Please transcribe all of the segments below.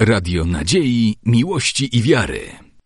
Radio nadziei, miłości i wiary.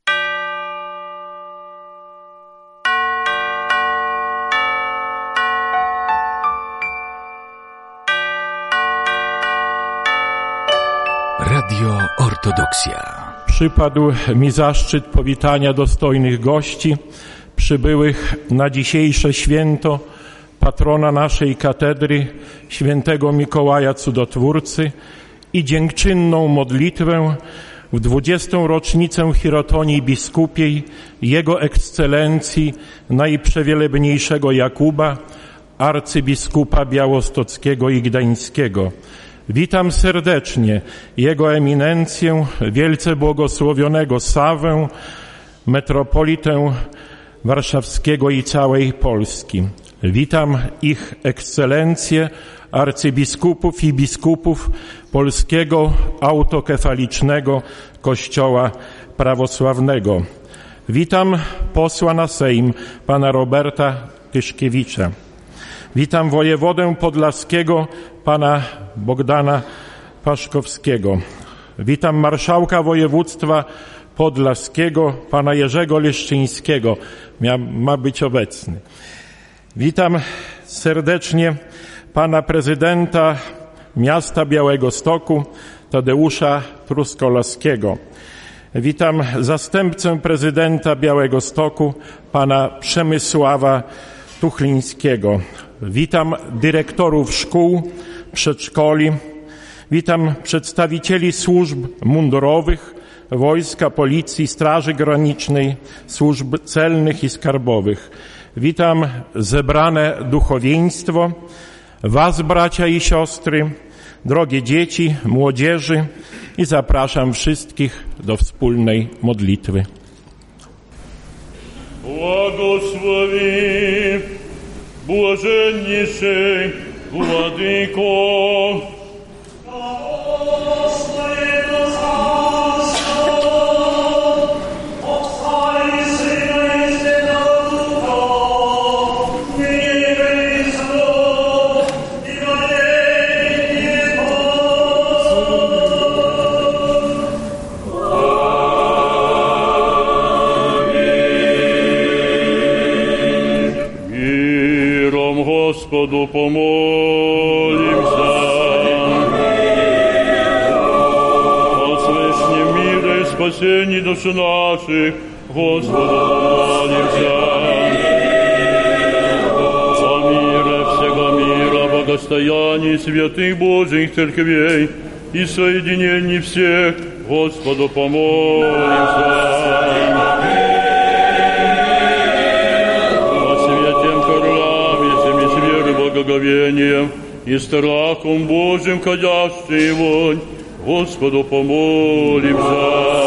Radio Ortodoksja. Przypadł mi zaszczyt powitania dostojnych gości przybyłych na dzisiejsze święto patrona naszej katedry, świętego Mikołaja Cudotwórcy, i dziękczynną modlitwę w 20. rocznicę Chirotonii Biskupiej Jego Ekscelencji Najprzewielebniejszego Jakuba, arcybiskupa białostockiego i gdańskiego. Witam serdecznie Jego Eminencję, wielce błogosławionego Sawę, metropolitę warszawskiego i całej Polski. Witam ich ekscelencje, arcybiskupów i biskupów Polskiego Autokefalicznego Kościoła Prawosławnego. Witam posła na Sejm, pana Roberta Tyszkiewicza. Witam wojewodę podlaskiego, pana Bogdana Paszkowskiego. Witam marszałka województwa podlaskiego, pana Jerzego Leszczyńskiego. Ma być obecny. Witam serdecznie pana prezydenta miasta Białegostoku, Tadeusza Truskolowskiego. Witam zastępcę prezydenta Białegostoku, pana Przemysława Tuchlińskiego. Witam dyrektorów szkół, przedszkoli. Witam przedstawicieli służb mundurowych, wojska, policji, straży granicznej, służb celnych i skarbowych. Witam zebrane duchowieństwo, was, bracia i siostry, drogie dzieci, młodzieży, i zapraszam wszystkich do wspólnej modlitwy. Błogosławi Błażenniejszy Władyko, Господу помолимся. О свышнем мире и спасении души наших, Господу помолимся. О мире всего мира, благостоянии святых Божьих церквей и соединении всех, Господу помолимся. Благоговением и страхом Божьим ходящий вонь, Господу помолимся.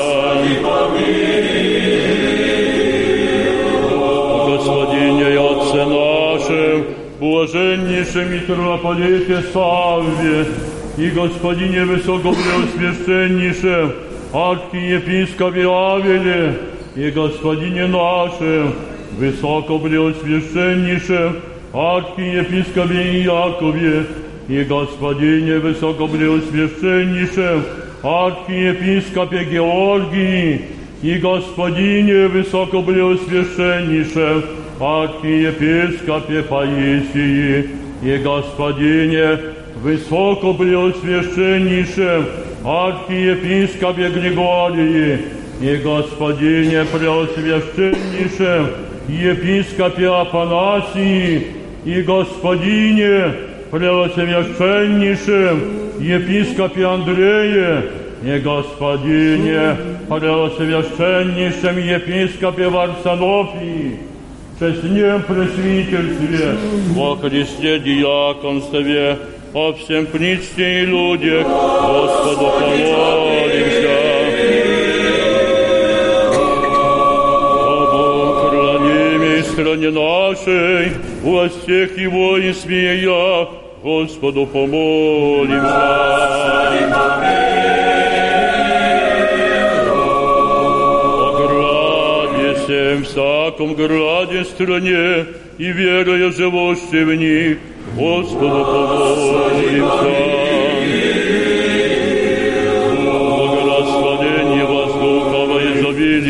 Господине и Отце нашим, блаженнейшем митрополите Савве и Господине Высокопреосвященнейшем архиепископе Авеле и Господине нашим Высокопреосвященнейшем архиепископе Иакове и Господине Высокопреосвященнейшем архиепископе Георгии и Господине Высокопреосвященнейшем архиепископе Паисии и Господине Высокопреосвященнейшем архиепископе Григории и Господине Преосвященнейшем епископе Афанасии и Господине Преосвященнейшем епископе Андрее и Господине Преосвященнейшем епископе Варсонофии, честнем пресвитерстве, во Христе диаконстве, о всем причте и людях, Господу помолимся. Стране нашей, властях его и смея, Господу помолимся. О граде всем, всяком граде стране, и верою живущей в них, Господу помолимся.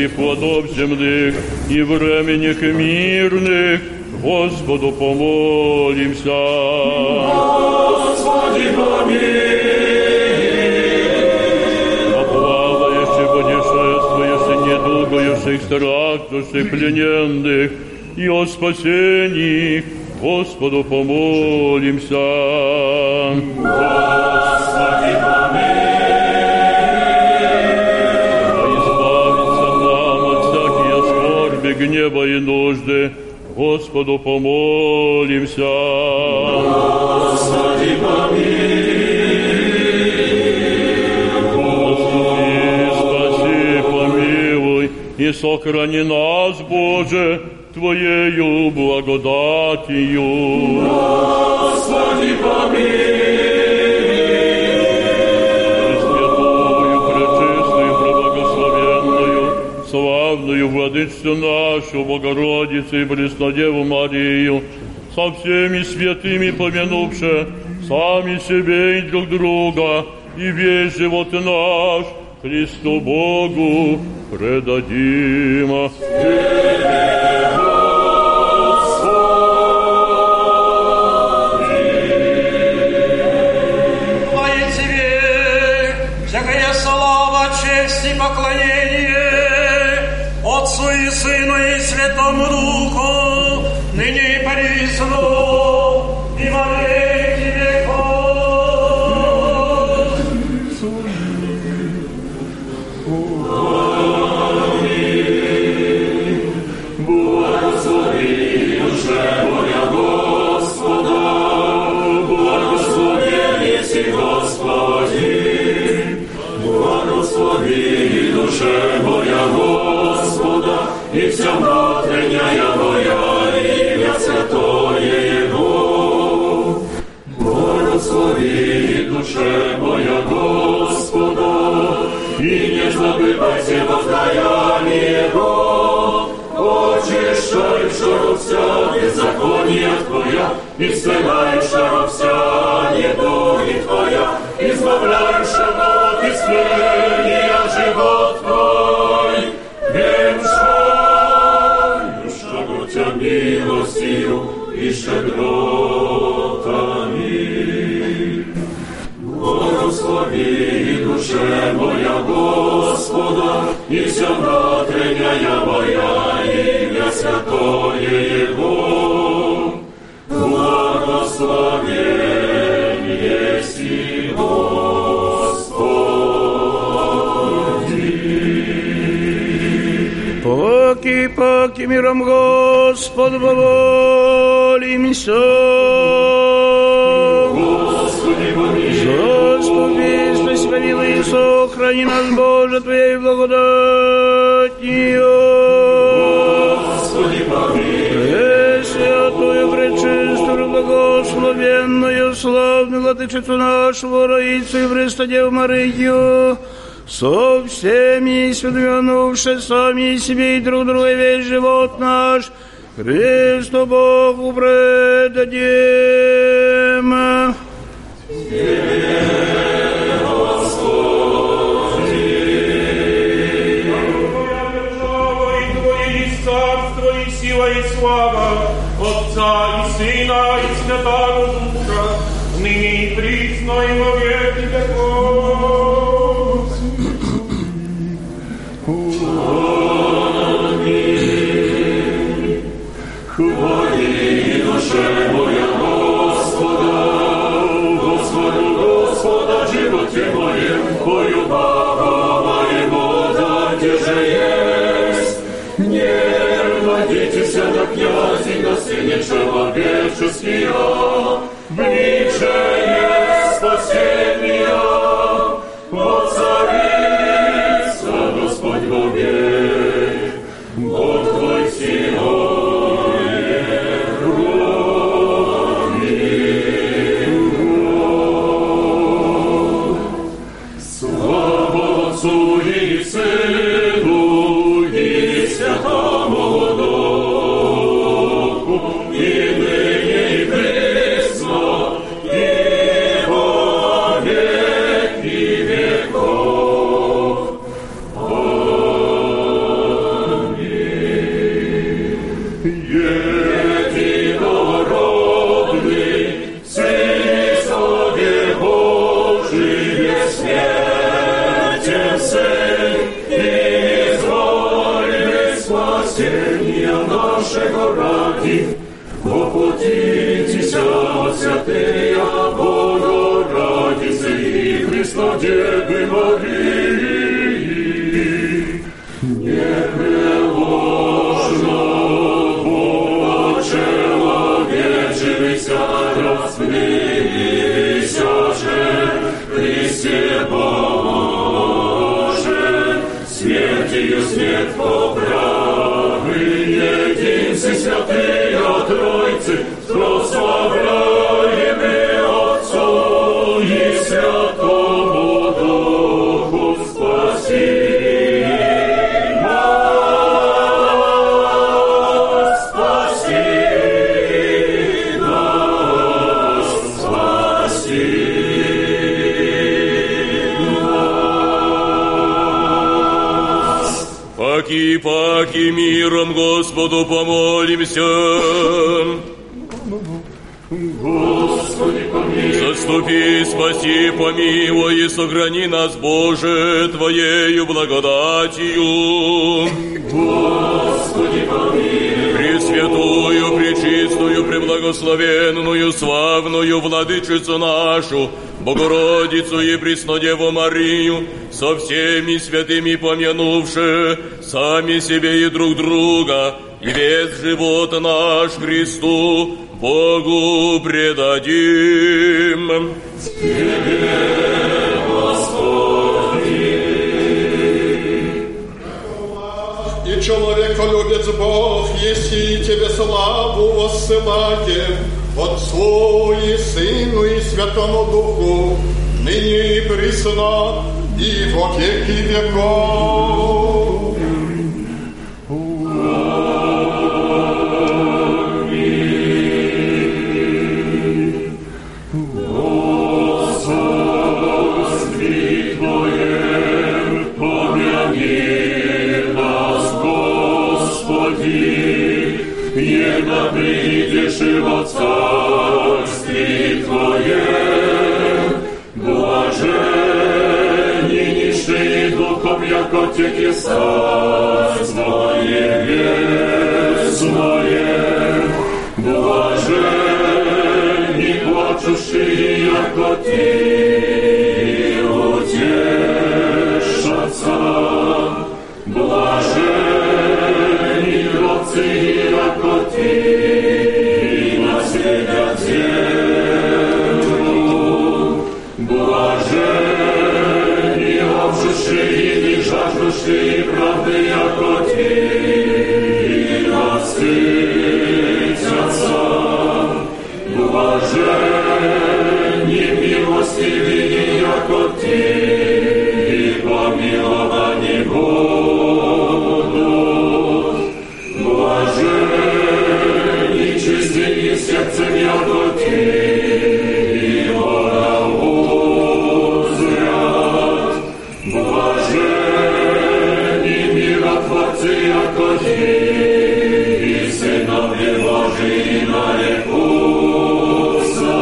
плодов земных и временных мирных, Господу помолимся. Господи, помилуй. О плавающих, путешествующих, недугающих, страждущих, плененных и о спасении, Господу помолимся. Господи, помилуй. Избавиться нам от всякие скорби, гнева и нужды, Господу помолимся. Господи, помилуй. Спаси, помилуй и сохрани нас, Боже, Твоею благодатью. Господи, помилуй. Пресвятую, пречистую, преблагословенную, славную Владычицу нашу, Богородицу и Преснодеву Марию, со всеми святыми помянувши сами себе и друг друга, и весь живот наш Христу Богу предадим. Честь и поклонение Отцу и Сыну и Святому Духу, ныне и присно, и во веки веков. Аминь. Благослови душе моя Господа, благословен еси Господи. Благослови душе моя Господа, и вся внутренняя моя, имя святое Его. Благослови душе моя Господа, и не забывайте воздаяние Его. Очищаешь вся беззакония Твоя, исцеляешь вся недуги Твоя, избавляешь от исцеления живот Твой, венчаешь Тебя милостью и щедротами. Благослови душе моя Господа, и вся внутренняя моя, имя святое Его. Благословен еси Господи. Поки миром Господу помолимся. Господи, помилуй. Заступись, помилуй и сохрани нас, Боже, Твоей благодатью. Господи, помилуй. Пресвятую, пречистую, благословенную, славную Владычицу нашу, Богородицу и Преснодеву Марию, со всеми святыми сами себе и друг другу весь живот наш Христу Богу предадим. Сила и слава Отца и Сына и Святого Духа, ныне и присно и во веки веков. Аминь. Хвали душе моя Господа, Господа, животе моем, пою Богу моему, да где же есть. Не надейтесь на князей, на сыне человеческие, ближе есть спасение, воцарится Господь вовек, Бог твой силой крови. Слава Отцу и Сыну и Святому Духу, и ныне и присно, и во веки веков. Аминь. Сын, изволь спасения нашего ради, воплотитеся, святые Богородицы и Христа Девы Марии, непреложно человечивися, распнися же, Христе Боже, смертью смерть поправы, единцы святые Тройцы, прославляемы Отцу и Святому Духу, спаси нас, спаси нас, спаси нас. Паки миром Господу помолимся. Господи, помилуй. Заступи, спаси, помилуй и сохрани нас, Боже, Твоею благодатью. Господи, помилуй. Пресвятую, пречистую, преблагословенную, славную Владычицу нашу, Богородицу и Преснодеву Марию, со всеми святыми помянувши сами себе и друг друга, и весь живот наш Христу, Богу предадим. Тебе, Господи. И человеколюбец Бог, еси Тебе славу воссылаем, Отцу и Сыну и Святому Духу, ныне и присно, и во веки веков. Господи, Твоем помяни нас, Господи, едно придешь и во Царстве Твоем, блаженни нищие духом, яко Теки Царство Небесное, блаженни плачущие, яко Ти утешатся, блаженни гробцы, яко Ти наследят землю, блаженни обжившие и жаждущие правды, яко Ти насытятся, блаженни милостивые, яко Ти помиловани будут, блаженни чистые сердцем, яко Ти Бога узрят, блаженни миротворцы, яко Ти сыновья Божии нарекутся,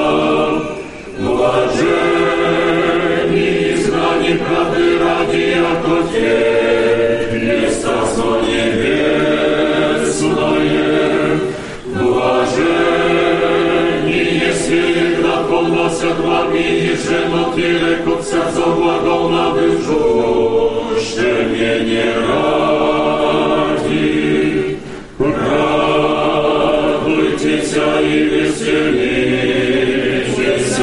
блаженни изгнани правды ради, яко Те есть Царство Небесное, блаженни, если град полносят вами, и женут и рекутся за глагол набывшущим не ради. Радуйтесь и веселитесь,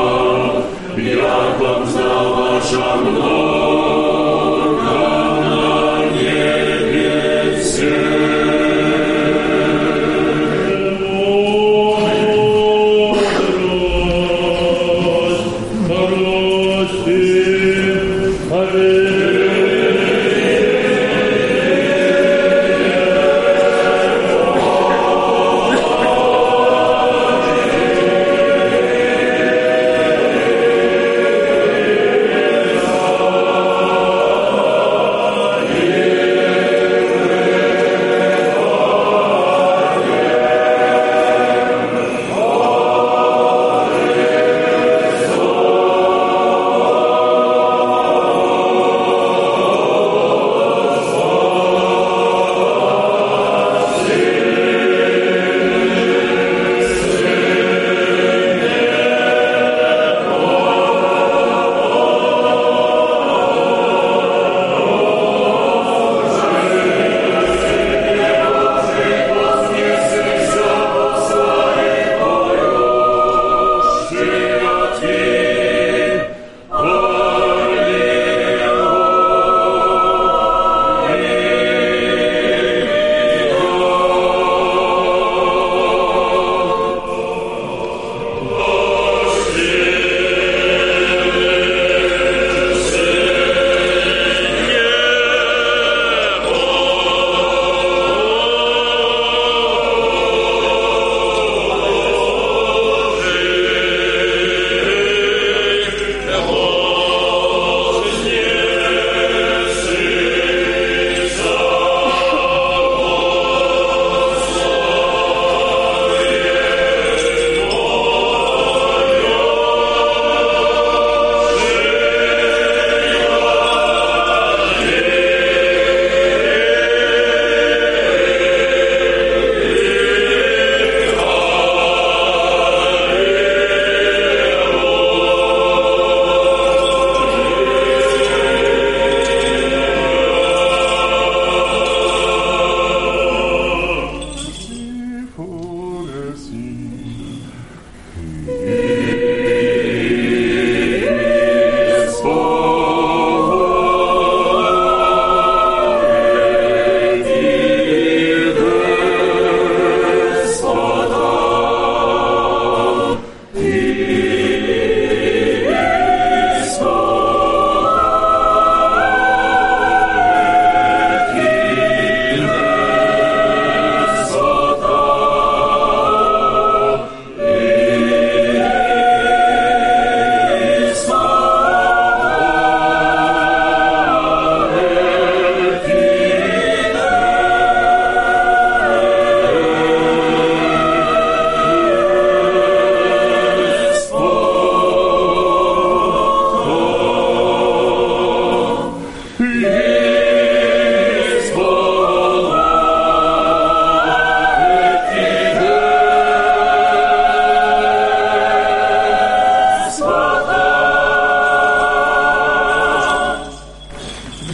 як вам знала много на небе все. Прости,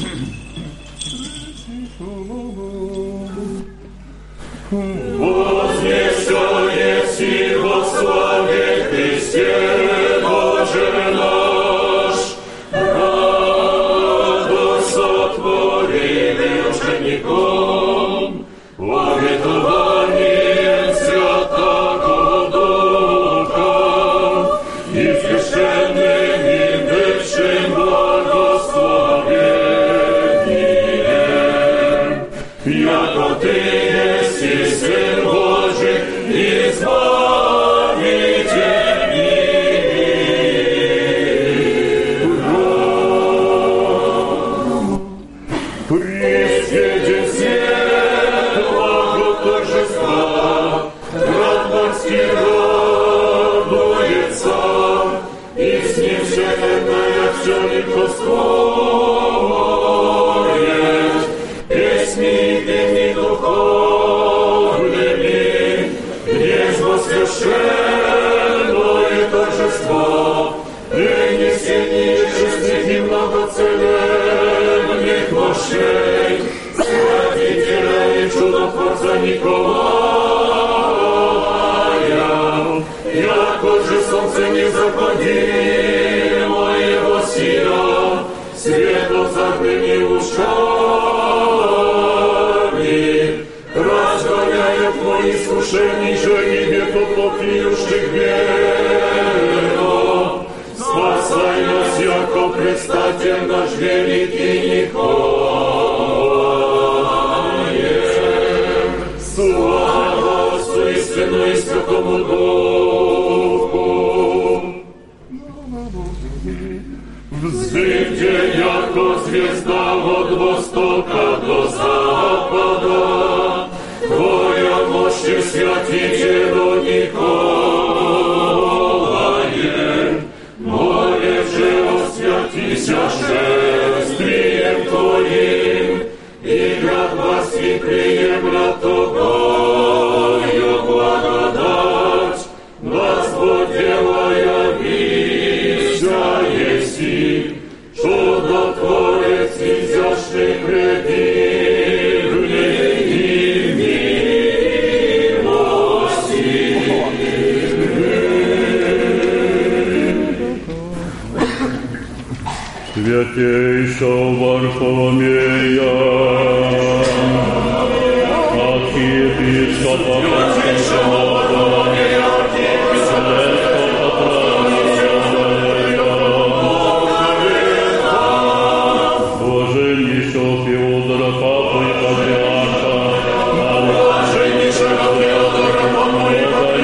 Вознесённый си во славе Христе, Боже наш, радость сотворили учеником, обетованием Святого Духа и священным и вечным благословением, яко Ты еси Сын Божий, избавитель мира. Пресведен свет благо торжества, град морский радуется, и с ним вселенная все ликоствует, песни и гимны духовными, нежно священное торжество, принесение честных и многоценных мощей, святителя и чудотворца Николая, яко же солнце незаходимое восия, светом закрыми ушами, разгоняя твои искушений, жени веку плотнющих веру. Спасай нас, яко предстатель наш великий Николаем. Слава Отцу и Сыну и Святому Духу. Взрывьте, яко звезда от востока до запада, Твоя мощь святителю Николае, молев же освятися шествием Твоим, и град Васький приемля Тобою благодать, Господь делая вища еси, чудотворец изящный предивный и Святейшего Варфоломея, архиепископа блаженнейшего Феодора Папу и Патриарха, блаженнейшего Феодора Папу и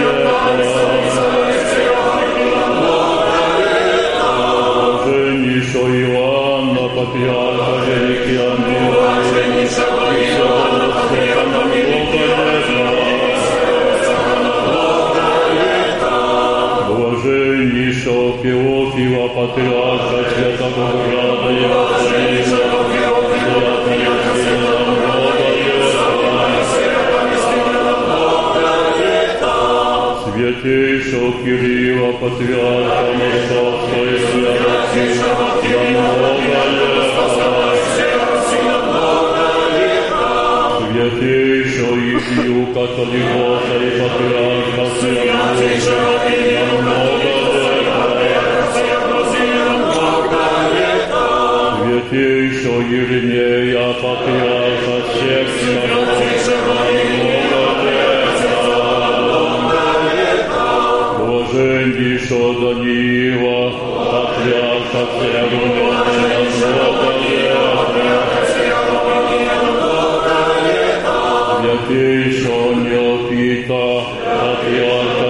блаженнейшего Иоанна Патриарха Великий Ангел, блаженнейшего Иоанна Патриарха Великий блаженнейшего Феофила Патриарха Святого Града и блаженнейшего Феофила Патриарха святейшего Кирилла Патриарха Московского и святейшего Кирилла святейшего Илью Католикоса и Патриарха святейшего святейшего Иринея Патриарха всех блаженнейшего Даниила Патриарха святейшего Неофита Патриарха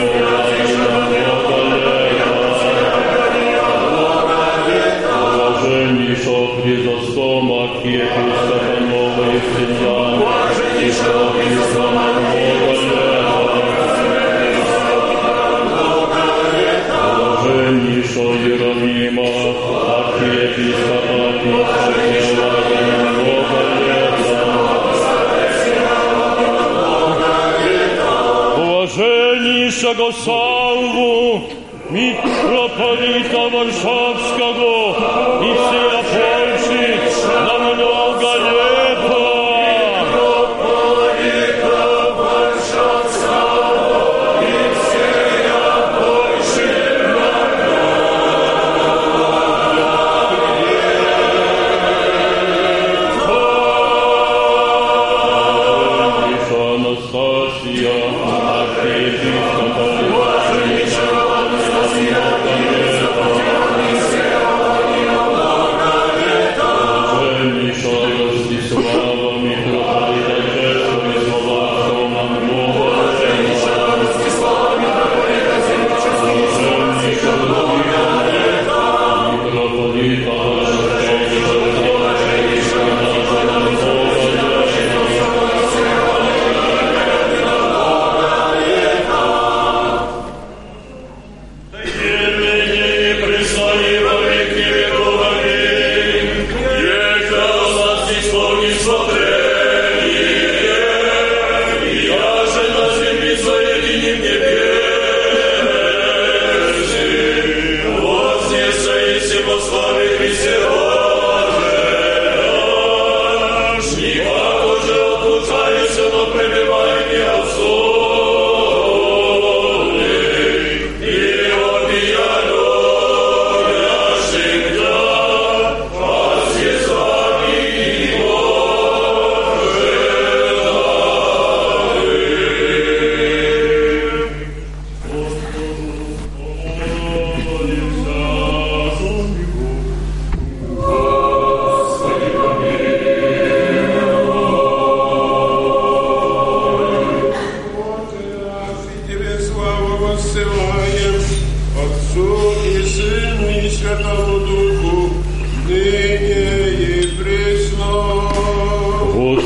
блаженнейшего Хризостома архиепископа Новой Христиан, блаженнейшего Хризостома блаженнейшего Иеронима архиепископа блаженнейшего Савву митрополита Варшавского и всея Польши,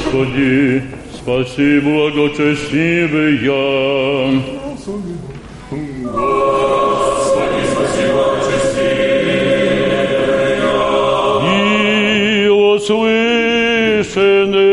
Господи, спаси благочестивый я. Господи, спаси благочестивый я. И услышаны.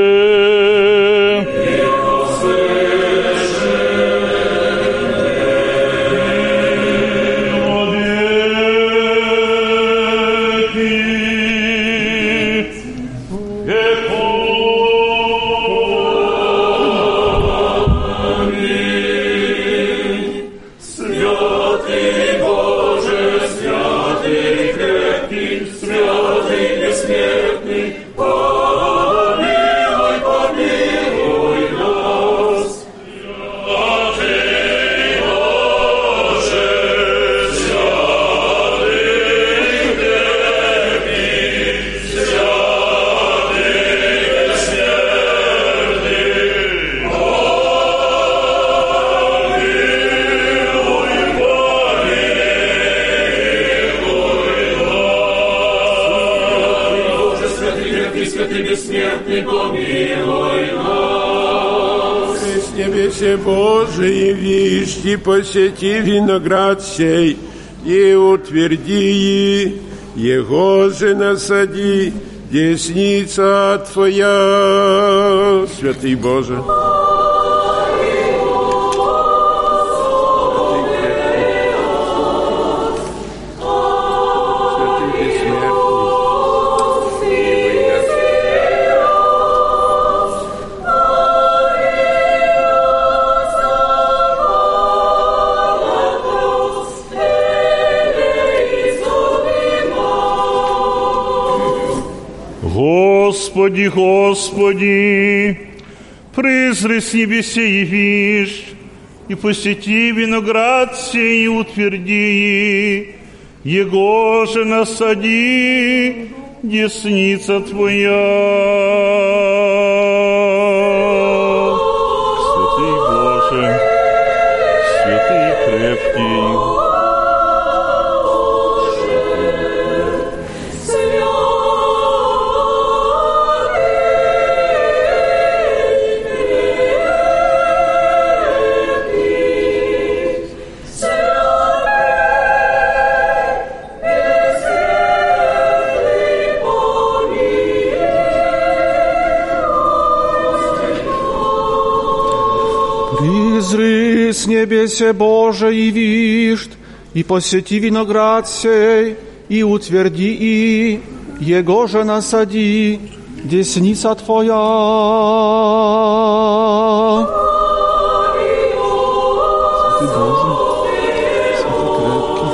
Божий, вишь, посети виноград сей, и утверди, его же насади, десница Твоя, святый Боже. Господи, Господи, призри с небесе явишь, и посети виноград сей, и утверди, его же насади, десница Твоя. Святый Боже, святый крепкий, с небесе Боже явишь, и посети виноград сей, и утверди, и его же насади, десница Твоя. Святый Боже, святый крепкий,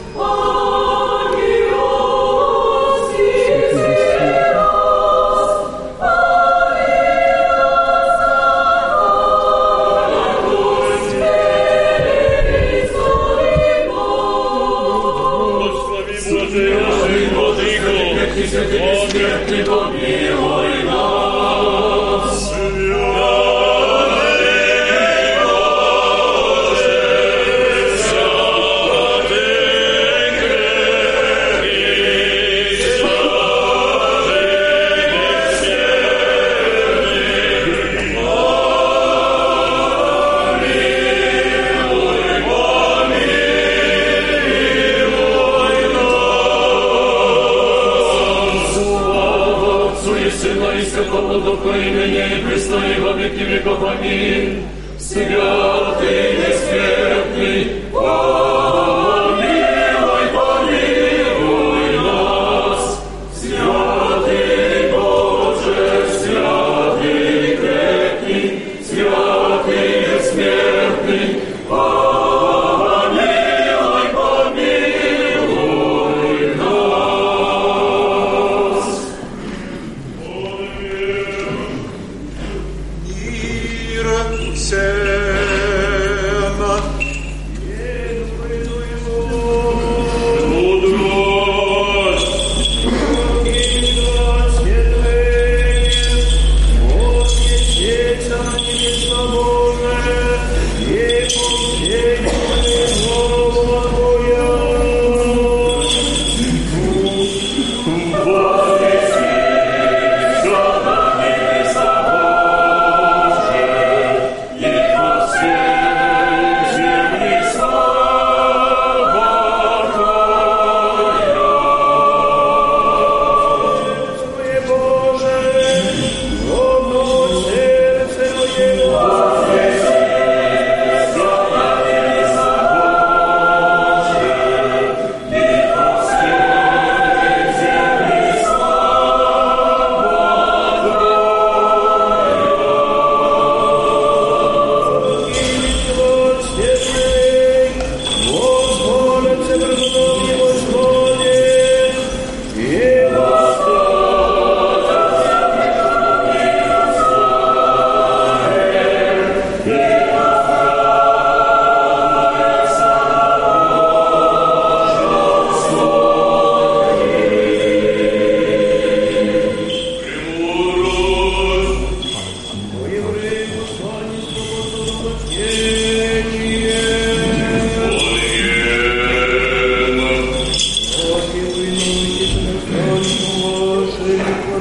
Ты помилуй нас, Духу имени Христа и во веки веков. Аминь. Святый бессмертный, помилуй, помилуй нас. Святый Боже, святый крепкий, святый бессмертный, помилуй, помилуй нас. Всем,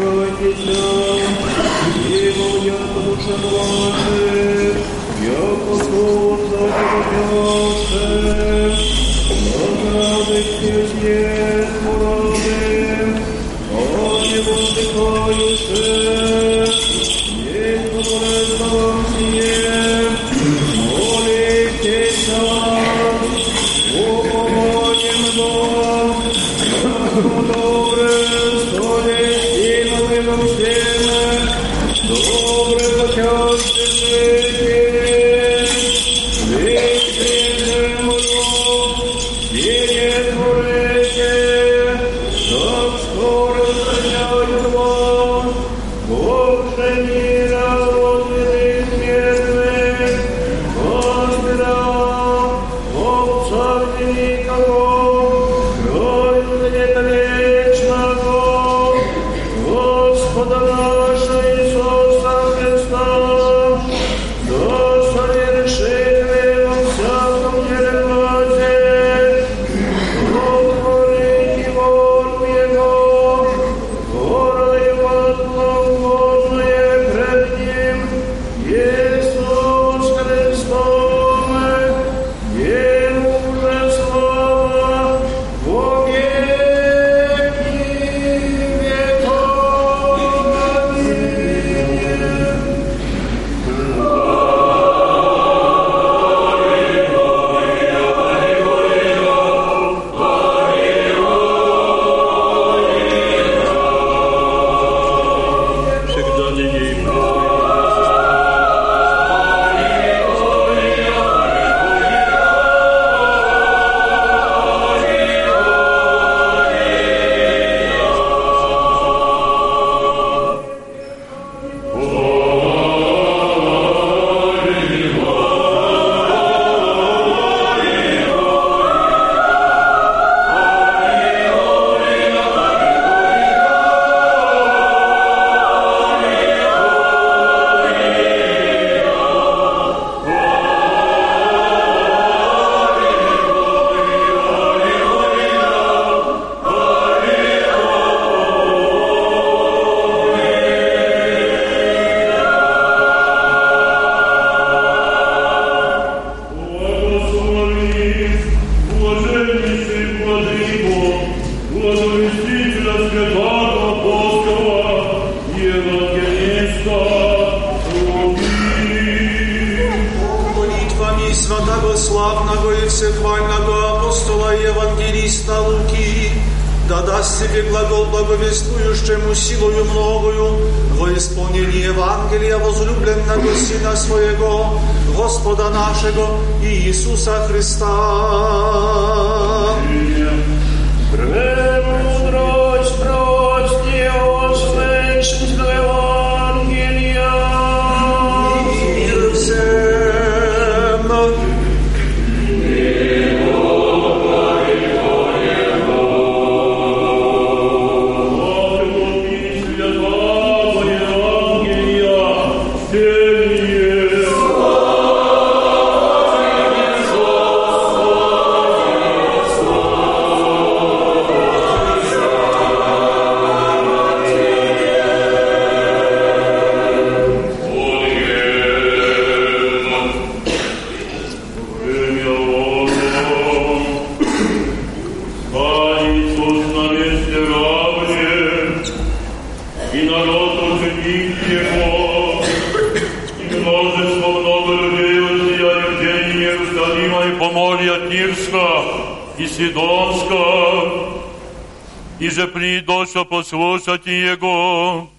Послушайте Его,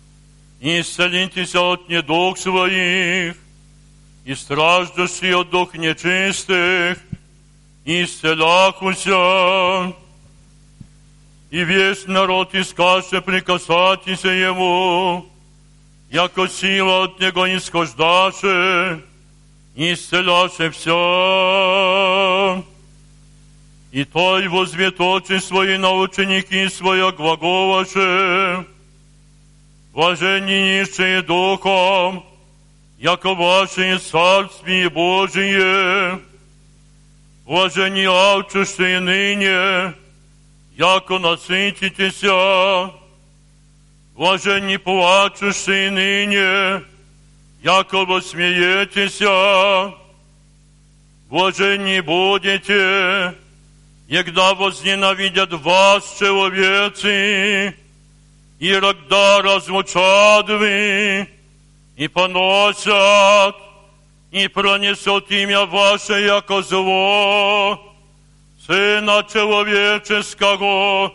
и исцелитесь от недуг своих, и страждущие от дух нечистых, и исцеляхуся, и весь народ искаше прикасатися Ему, яко сила от Него исхождаше, и исцеляше все. И Той возвет очи свои на ученики своя глаголаше, блаженни нищие духом, яко ваше царствие Божие, блаженни алчущие ныне, яко насытитеся, Блаженни плачущие ныне, якобы смеетеся. Блаженни будете, егда возненавидят вас человецы, и рогда разлучат вы, и поносят, и пронесут имя ваше, яко зло, Сына Человеческого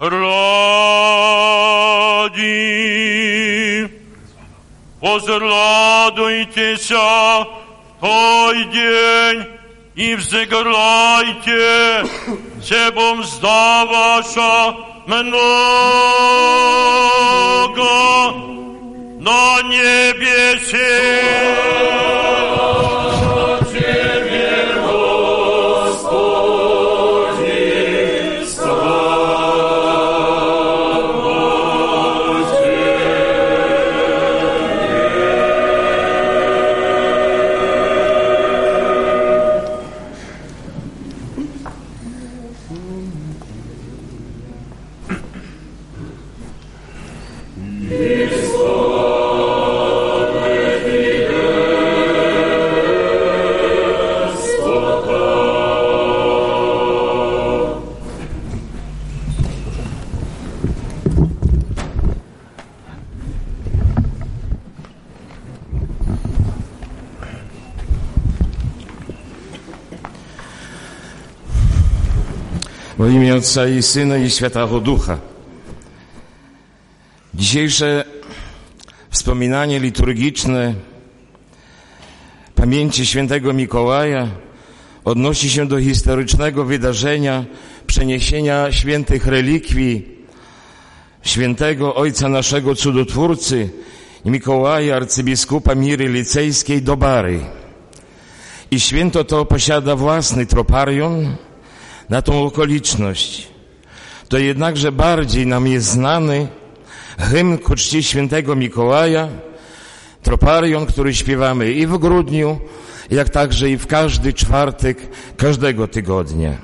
ради. Возрадуйтеся в той день и взыграйте, себо мзда ваша много на небесе. W imię Ojca i Syna i Świętego Ducha. Dzisiejsze wspominanie liturgiczne pamięci świętego Mikołaja odnosi się do historycznego wydarzenia przeniesienia świętych relikwii świętego Ojca naszego Cudotwórcy Mikołaja, arcybiskupa Miry Licejskiej do Bary. I święto to posiada własny troparion na tą okoliczność. To jednakże bardziej nam jest znany hymn ku czci świętego Mikołaja, troparion, który śpiewamy i w grudniu, jak także i w każdy czwartek każdego tygodnia.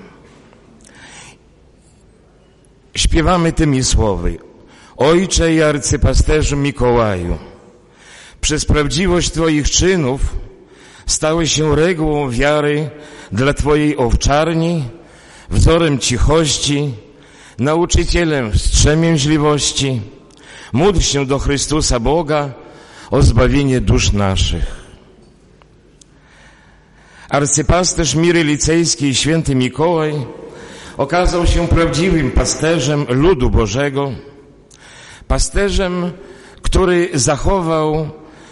Śpiewamy tymi słowy: Ojcze i arcypasterzu Mikołaju, przez prawdziwość Twoich czynów stały się regułą wiary dla Twojej owczarni, wzorem cichości, nauczycielem wstrzemięźliwości. Módl się do Chrystusa Boga o zbawienie dusz naszych. Arcypasterz Miry Licejskiej, święty Mikołaj, okazał się prawdziwym pasterzem ludu Bożego, pasterzem, który zachował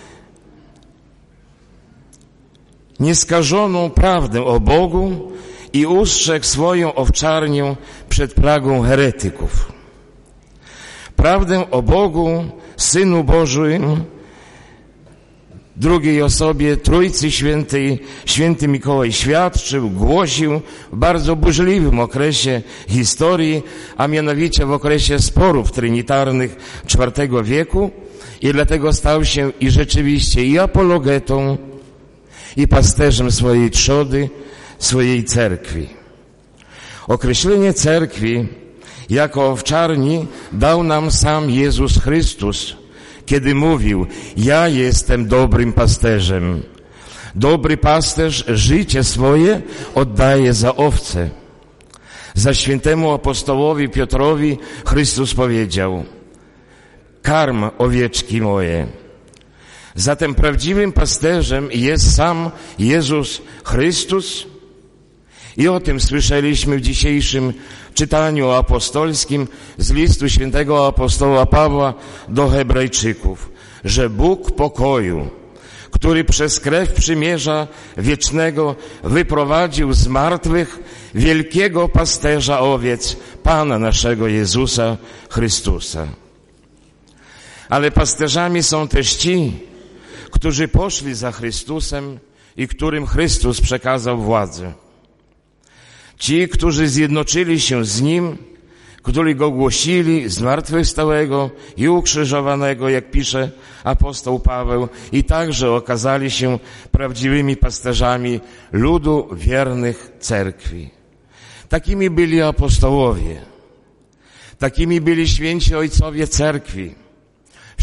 nieskażoną prawdę o Bogu i ustrzegł swoją owczarnię przed plagą heretyków. Prawdę o Bogu, Synu Bożym, drugiej osobie Trójcy Świętej, święty Mikołaj świadczył, głosił w bardzo burzliwym okresie historii, a mianowicie w okresie sporów trinitarnych IV wieku, i dlatego stał się i rzeczywiście i apologetą, i pasterzem swojej trzody, swojej cerkwi. Określenie cerkwi jako owczarni dał nam sam Jezus Chrystus, kiedy mówił: ja jestem dobrym pasterzem. Dobry pasterz życie swoje oddaje za owce. Za świętemu apostołowi Piotrowi Chrystus powiedział: karm owieczki moje. Zatem prawdziwym pasterzem jest sam Jezus Chrystus. I o tym słyszeliśmy w dzisiejszym czytaniu apostolskim z listu świętego apostoła Pawła do Hebrajczyków, że Bóg pokoju, który przez krew przymierza wiecznego wyprowadził z martwych wielkiego pasterza owiec, Pana naszego Jezusa Chrystusa. Ale pasterzami są też ci, którzy poszli za Chrystusem i którym Chrystus przekazał władzę. Ci, którzy zjednoczyli się z Nim, którzy Go głosili zmartwychwstałego i ukrzyżowanego, jak pisze apostoł Paweł, i także okazali się prawdziwymi pasterzami ludu wiernych cerkwi. Takimi byli apostołowie, takimi byli święci ojcowie cerkwi,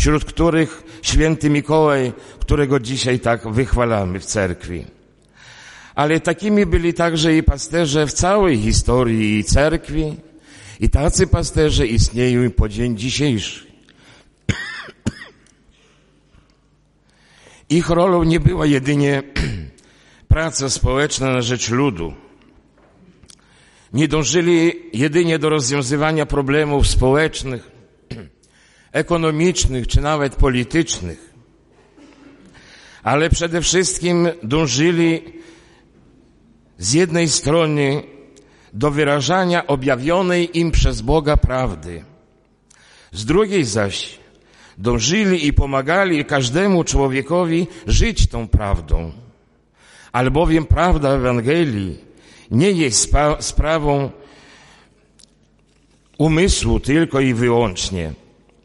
wśród których święty Mikołaj, którego dzisiaj tak wychwalamy w cerkwi. Ale takimi byli także i pasterze w całej historii cerkwi i tacy pasterze istnieją po dzień dzisiejszy. Ich rolą nie była jedynie praca społeczna na rzecz ludu. Nie dążyli jedynie do rozwiązywania problemów społecznych, ekonomicznych czy nawet politycznych, ale przede wszystkim dążyli z jednej strony do wyrażania objawionej im przez Boga prawdy, z drugiej zaś dążyli i pomagali każdemu człowiekowi żyć tą prawdą, albowiem prawda Ewangelii nie jest sprawą umysłu tylko i wyłącznie,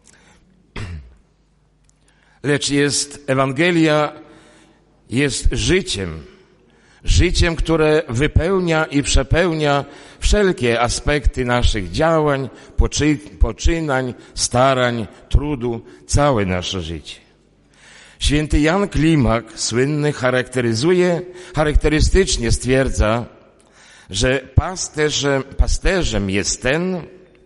lecz Ewangelia jest życiem, które wypełnia i przepełnia wszelkie aspekty naszych działań, poczynań, starań, trudu, całe nasze życie. Święty Jan Klimak, słynny, charakterystycznie stwierdza, że pasterzem jest ten,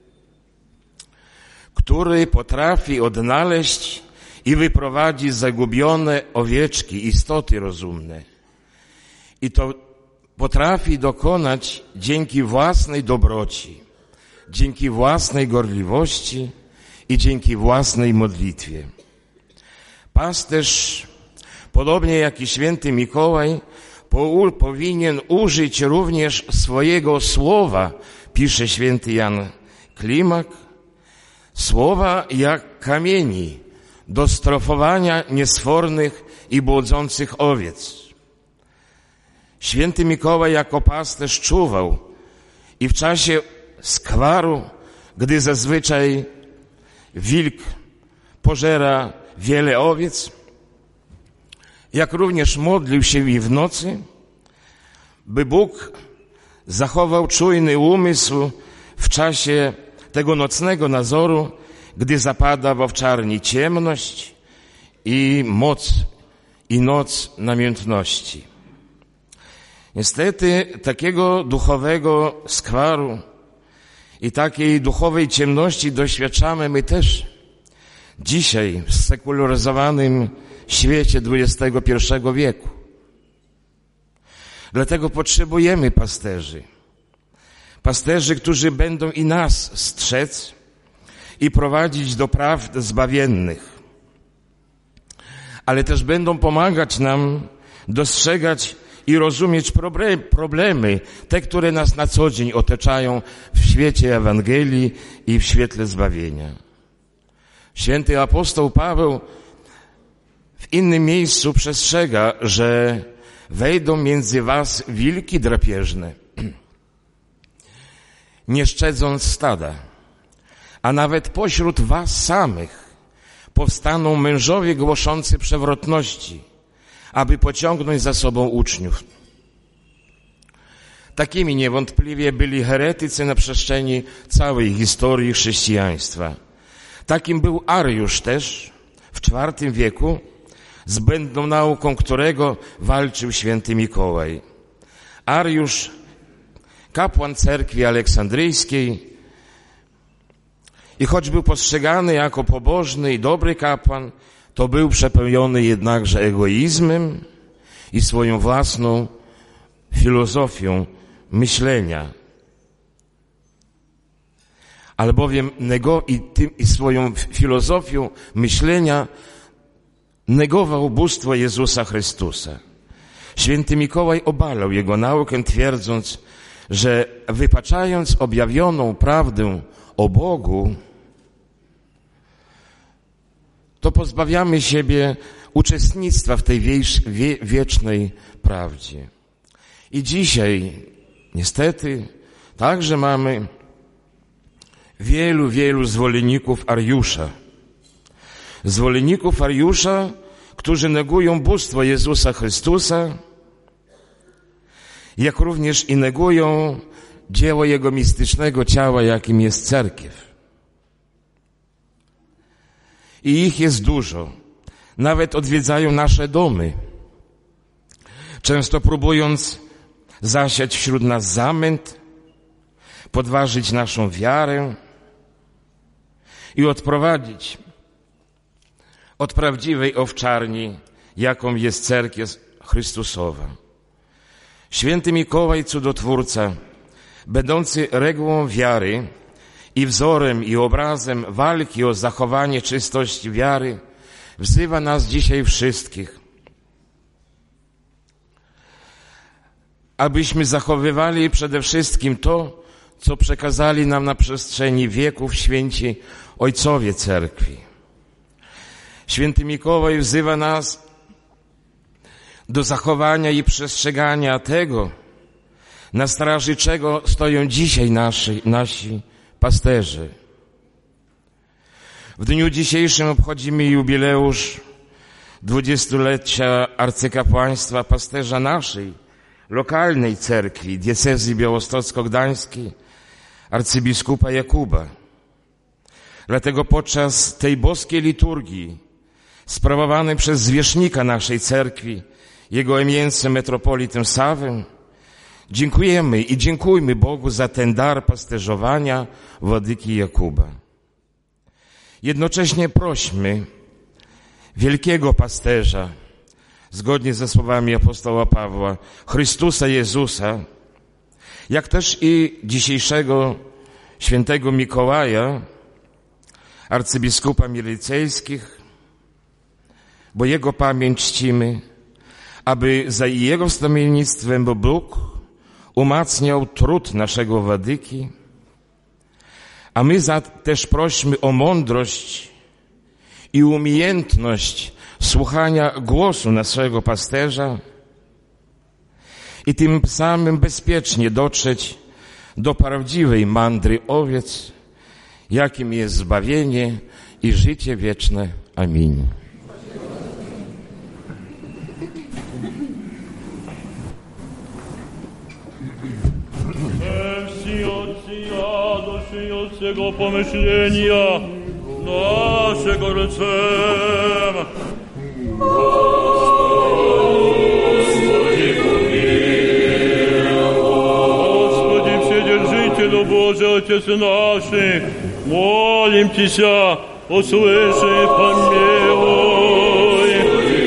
który potrafi odnaleźć i wyprowadzić zagubione owieczki, istoty rozumne. I to potrafi dokonać dzięki własnej dobroci, dzięki własnej gorliwości i dzięki własnej modlitwie. Pasterz, podobnie jak i święty Mikołaj, powinien użyć również swojego słowa, pisze święty Jan Klimak, słowa jak kamieni do strofowania niesfornych i błądzących owiec. Święty Mikołaj jako pasterz czuwał i w czasie skwaru, gdy zazwyczaj wilk pożera wiele owiec, jak również modlił się i w nocy, by Bóg zachował czujny umysł w czasie tego nocnego nazoru, gdy zapada w owczarni ciemność i noc namiętności. Niestety takiego duchowego skwaru i takiej duchowej ciemności doświadczamy my też dzisiaj w sekularyzowanym świecie XXI wieku. Dlatego potrzebujemy pasterzy, którzy będą i nas strzec i prowadzić do prawd zbawiennych, ale też będą pomagać nam dostrzegać i rozumieć problemy, te, które nas na co dzień otaczają w świecie Ewangelii i w świetle zbawienia. Święty apostoł Paweł w innym miejscu przestrzega, że wejdą między was wilki drapieżne, nie szczedząc stada, a nawet pośród was samych powstaną mężowie głoszący przewrotności, aby pociągnąć za sobą uczniów. Takimi niewątpliwie byli heretycy na przestrzeni całej historii chrześcijaństwa. Takim był Ariusz też w IV wieku, z błędną nauką którego walczył święty Mikołaj. Ariusz, kapłan cerkwi aleksandryjskiej, i choć był postrzegany jako pobożny i dobry kapłan, to był przepełniony jednakże egoizmem i swoją własną filozofią myślenia. Albowiem i swoją filozofią myślenia negował bóstwo Jezusa Chrystusa. Święty Mikołaj obalał jego naukę, twierdząc, że wypaczając objawioną prawdę o Bogu, to pozbawiamy siebie uczestnictwa w tej wiecznej prawdzie. I dzisiaj, niestety, także mamy wielu zwolenników Ariusza. Zwolenników Ariusza, którzy negują bóstwo Jezusa Chrystusa, jak również i negują dzieło Jego mistycznego ciała, jakim jest cerkiew. I ich jest dużo. Nawet odwiedzają nasze domy, często próbując zasiać wśród nas zamęt, podważyć naszą wiarę i odprowadzić od prawdziwej owczarni, jaką jest Cerkiew Chrystusowa. Święty Mikołaj, cudotwórca, będący regułą wiary i wzorem i obrazem walki o zachowanie czystości wiary, wzywa nas dzisiaj wszystkich, abyśmy zachowywali przede wszystkim to, co przekazali nam na przestrzeni wieków święci ojcowie Cerkwi. Święty Mikołaj wzywa nas do zachowania i przestrzegania tego, na straży czego stoją dzisiaj nasi pasterze. W dniu dzisiejszym obchodzimy jubileusz 20-lecia arcykapłaństwa pasterza naszej lokalnej cerkwi, diecezji białostocko-gdańskiej, arcybiskupa Jakuba. Dlatego podczas tej boskiej liturgii sprawowanej przez zwierzchnika naszej cerkwi, jego eminencję metropolitę Sawę, dziękujemy i dziękujmy Bogu za ten dar pasterzowania Władyki Jakuba. Jednocześnie prośmy wielkiego pasterza, zgodnie ze słowami apostoła Pawła, Chrystusa Jezusa, jak też i dzisiejszego świętego Mikołaja, arcybiskupa milicejskich, bo jego pamięć czcimy, aby za jego wstawiennictwem Bóg umacniał trud naszego Władyki, a my też prośmy o mądrość i umiejętność słuchania głosu naszego pasterza i tym samym bezpiecznie dotrzeć do prawdziwej mandry owiec, jakim jest zbawienie i życie wieczne. Amin. Tego pomyślenia naszego rycem. Господи, Вседержителю Божий, Отец наших, молим Тебя, услыши, помилуй.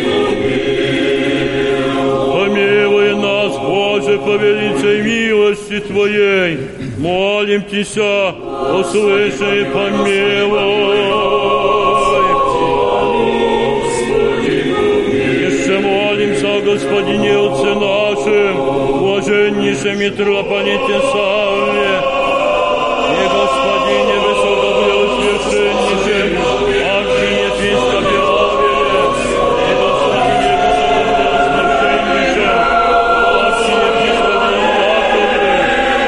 Помилуй нас, Боже, по величай милости Твоей. Молим Тебя, услыши и помилуй. Еще молимся о Господине Отце нашим, блаженнейшем митрополите Савве, и Господине Высокопреосвященнейшем архиепископе Авеле, и Господине Высокопреосвященнейшем архиепископе Яковле,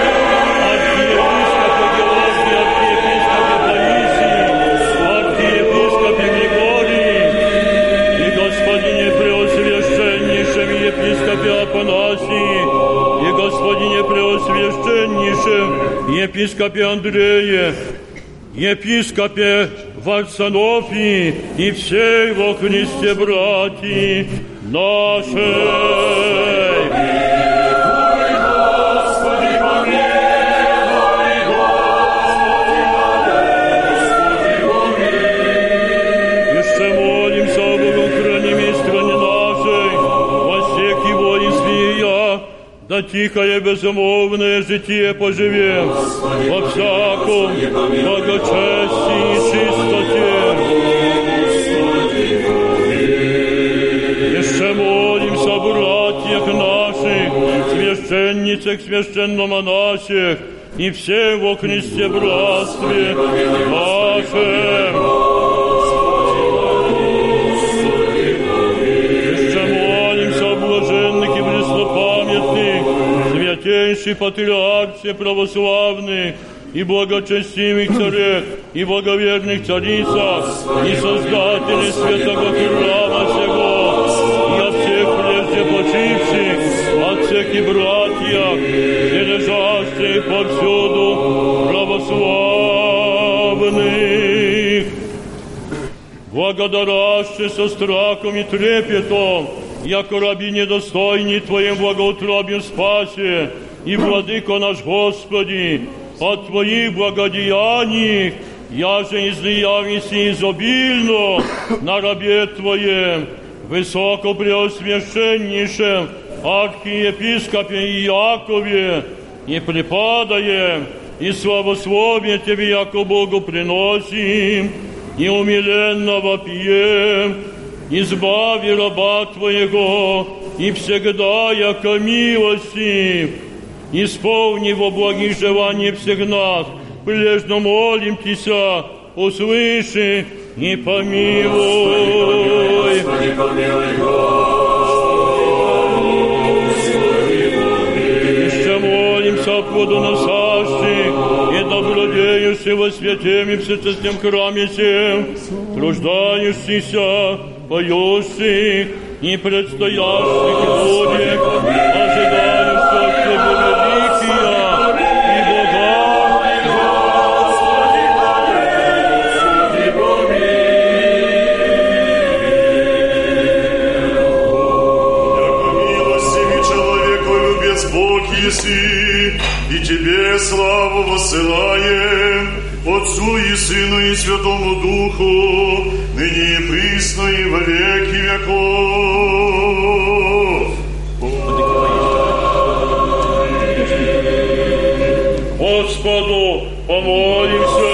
епископе Афанасии, и Господине Преосвященнейшем, епископе Андрее, епископе Варсонофии и всей во Христе братьи нашей. Да тихое безмолвное житие поживем во всяком благочестии и чистоте. Еще молимся о братьях наших, священницах, священномонахах и всем во Христе братстве нашем. Святейший патриарх православных и благочестивых царей и благоверных царицах и создателей святого храма сего и от всех прежде почивших, от всех и братьях, и лежащих повсюду православных. благодараще со страхом и трепетом, яко раби недостойни Твоим благоутробием спасе, и, Владыко наш Господи, от Твоих благодеяний, яже излиявися изобильно на рабе Твоем, высокопреосвященнейшем архиепископе Иакове, и преподаем, и славословие Тебе, яко Богу приносим, и умиленно вопием, избави раба Твоего, и всегда, яко милости, исполни во благих желаний всех нас, прилежно молим Тися, услыши и помилуй. Господи, помилуй, Еще молимся о плодоносящих и добродеющих во святем и всечестном храме сем, труждающихся, поющих и предстоящих людях, ожидающих от Тебя великия и Бога. Яко милостивый человеколюбец Бог еси, и Тебе славу воссылаем, Отцу и Сыну и Святому Духу, ныне и присно и во веки веков. Господу помолимся.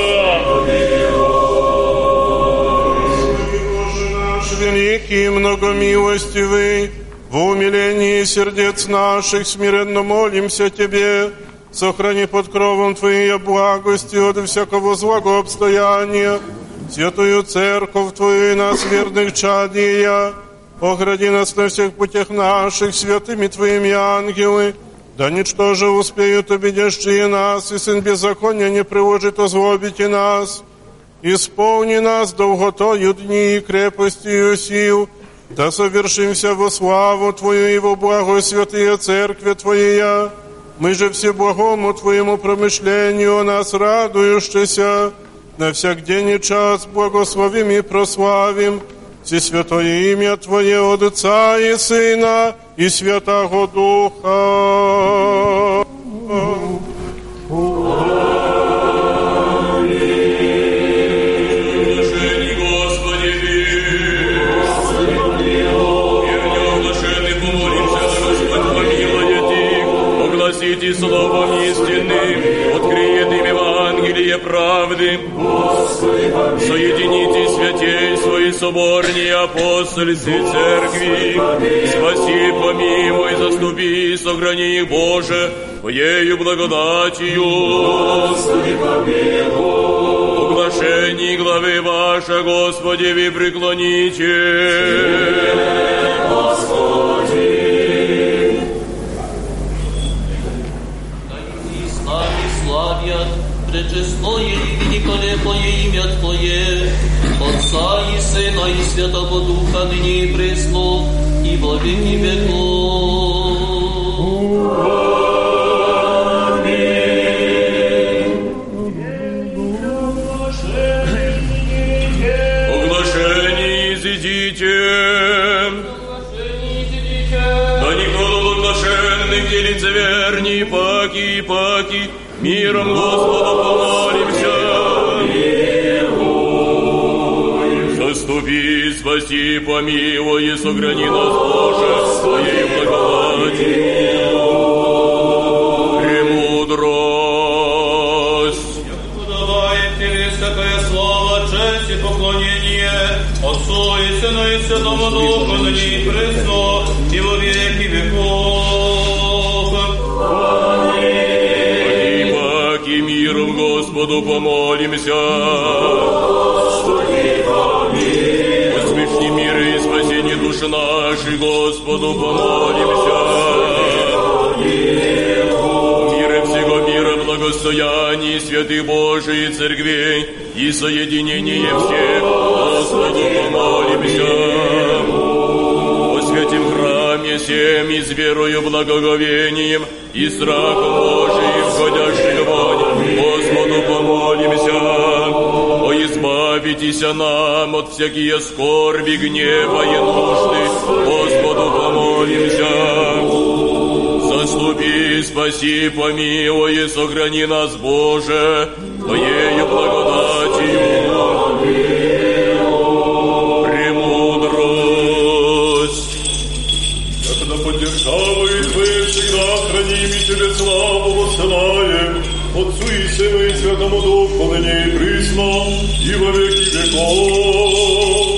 Боже наш великий и многомилостивый, в умилении сердец наших смиренно молимся Тебе, сохрани под кровом Твоей благости от всякого злого обстояния святую церковь Твою и нас, верных чадия. Огради нас на всех путях наших святыми Твоими ангелы, да ничто же успеют обидящие нас, и сын беззакония не приложит озлобить и нас. Исполни нас долготою дни и крепостью сил, да совершимся во славу Твою и во благо святые церкви Твоя. Мы же всеблагому Твоему промышлению о нас радующийся, на всяк день и час благословим и прославим всесвятое имя Твое от Отца и Сына и Святого Духа. Огласите словом истинным, откриет им Евангелие правды. Соедините святейство и соборнее апостольской церкви. Спаси, помилуй, заступи, сохрани их, Боже, Твоею благодатью. Углашение главы ваша, Господи, вы преклоните. Пречестное и великолепное имя Твое, Отца и Сына и Святого Духа, ныне и пресно, и во веки веков. Оглашение изидите. Да никто от оглашенных не лицеверней, паки, миром Господу помолимся. Заступи, спаси, помилуй и сохрани нас, Боже, Твоей благодатью. Премудрость. Подавает Тебе всякое слово, честь и поклонение Отцу и Сыну и Святому Духу, ныне и пресно, и во веки веков. Миром Господу помолимся. Усмешни мир и спасение души нашей, Господу помолимся. Мира всего мира, благостояние святых Божией церквей и соединение всех, Господу помолимся. О святем храме всем и с верою, благоговением и страхом Божиим, входящих вонь, Господу помолимся. О избавлении Избавитеся нам от всякие скорби, гнева и нужды, Господу помолимся. Заступи, спаси, помилуй и сохрани нас, Боже, Твоею благодатью. Премудрость. Когда поддержавает Вы, всегда храним и Тебе славу воссылаем, Отцу и Сыну и Святому Духу, ныне и присно, и во веки веков.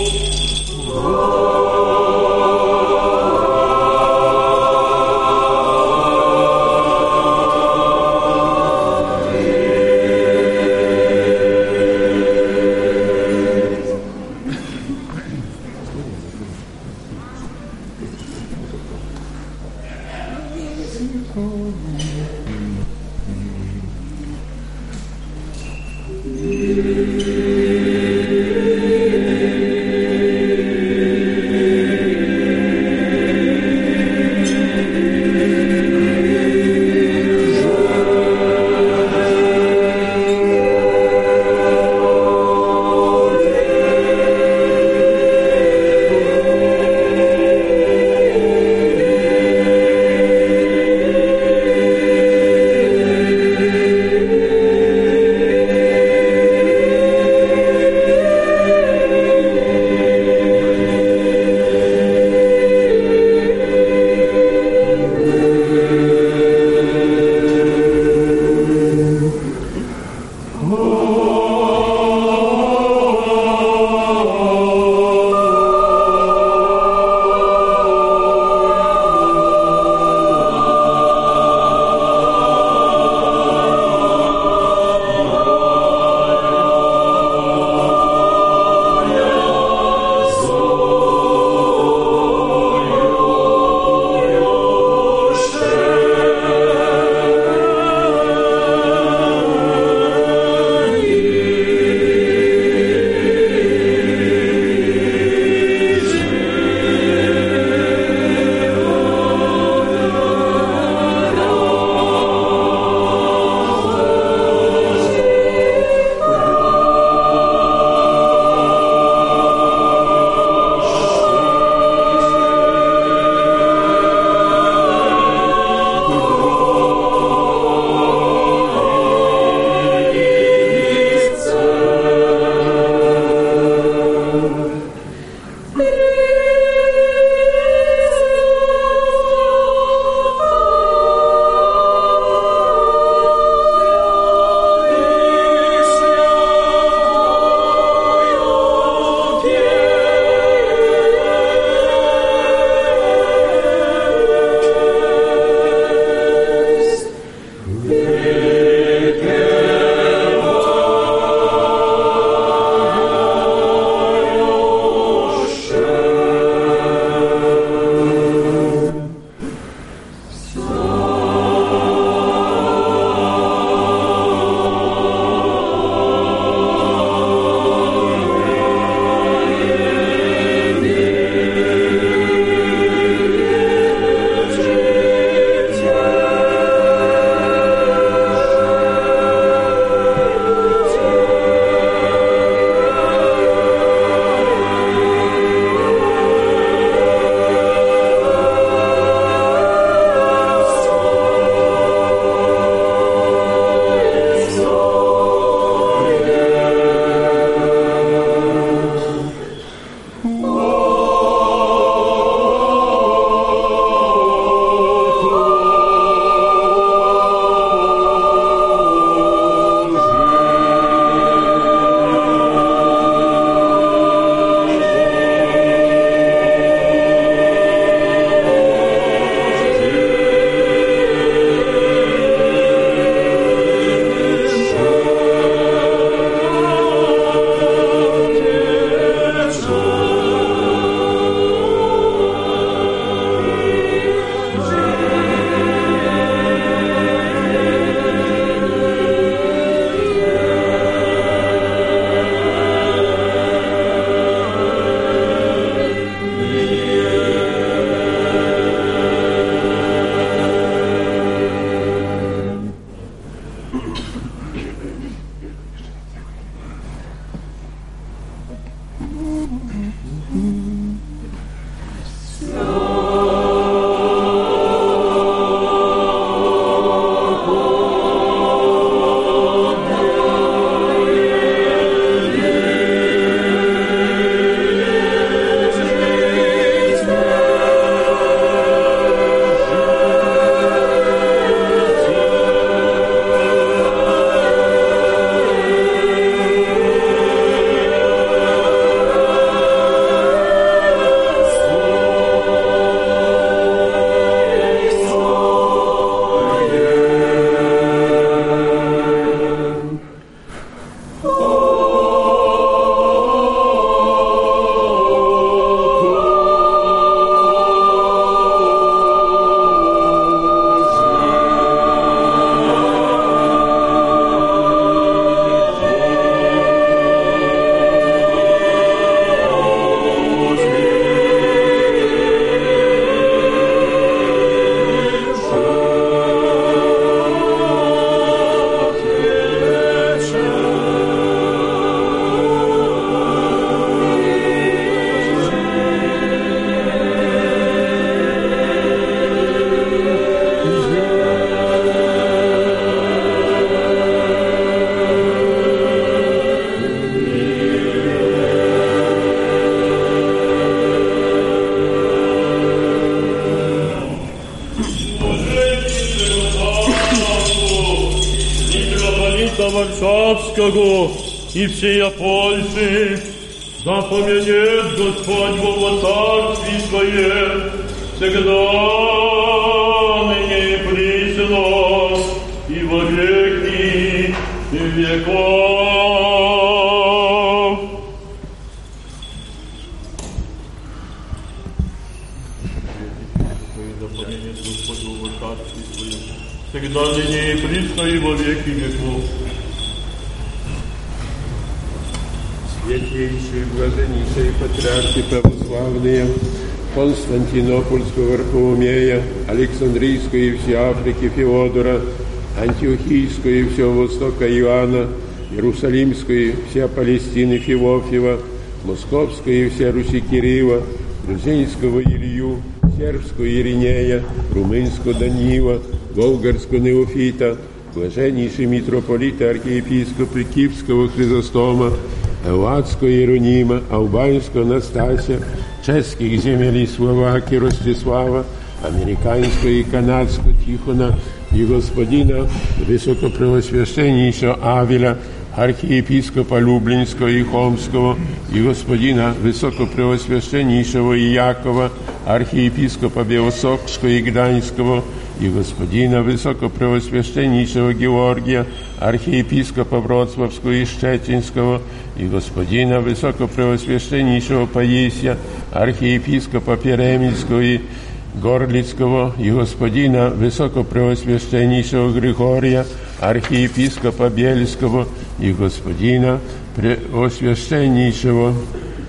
Варшавского и всея Польши, да помянет Господь Бог во царстве Своем, всегда ныне и присно, и во веки веков. Да помянет Господь Бог во царстве Своем, всегда ныне и присно, и во веки веков. Святейшие, блаженнейшие патриархи православные Константинопольского Варфоломея, Александрийского и всей Африки Феодора, Антиохийского и всего Востока Иоанна, Иерусалимского и вся Палестины Феофила, Московского и вся Руси Кирилла, Грузинского Илью, Сербского Иринея, Румынского Данила, Болгарского Неофита, блаженнейшие митрополиты, архиепископы Киевского Хризостома, Элладского Иеронима, Албанского Настасия, чешских земель и Словакии Ростислава, американского и канадского Тихона и господина высокопреосвященнейшего Авеля, архиепископа Люблинского и Холмского, и господина высокопреосвященнейшего Иакова, архиепископа Белосокского и Гданьского, и господина высокопреосвященнейшего Георгия, архиепископа Вроцлавского и Щетинского, и господина высокопреосвященнейшего Паисия, архиепископа Перемельского и Горлицкого, и господина высокопреосвященнейшего Григория, архиепископа Бельского, и господина преосвященнейшего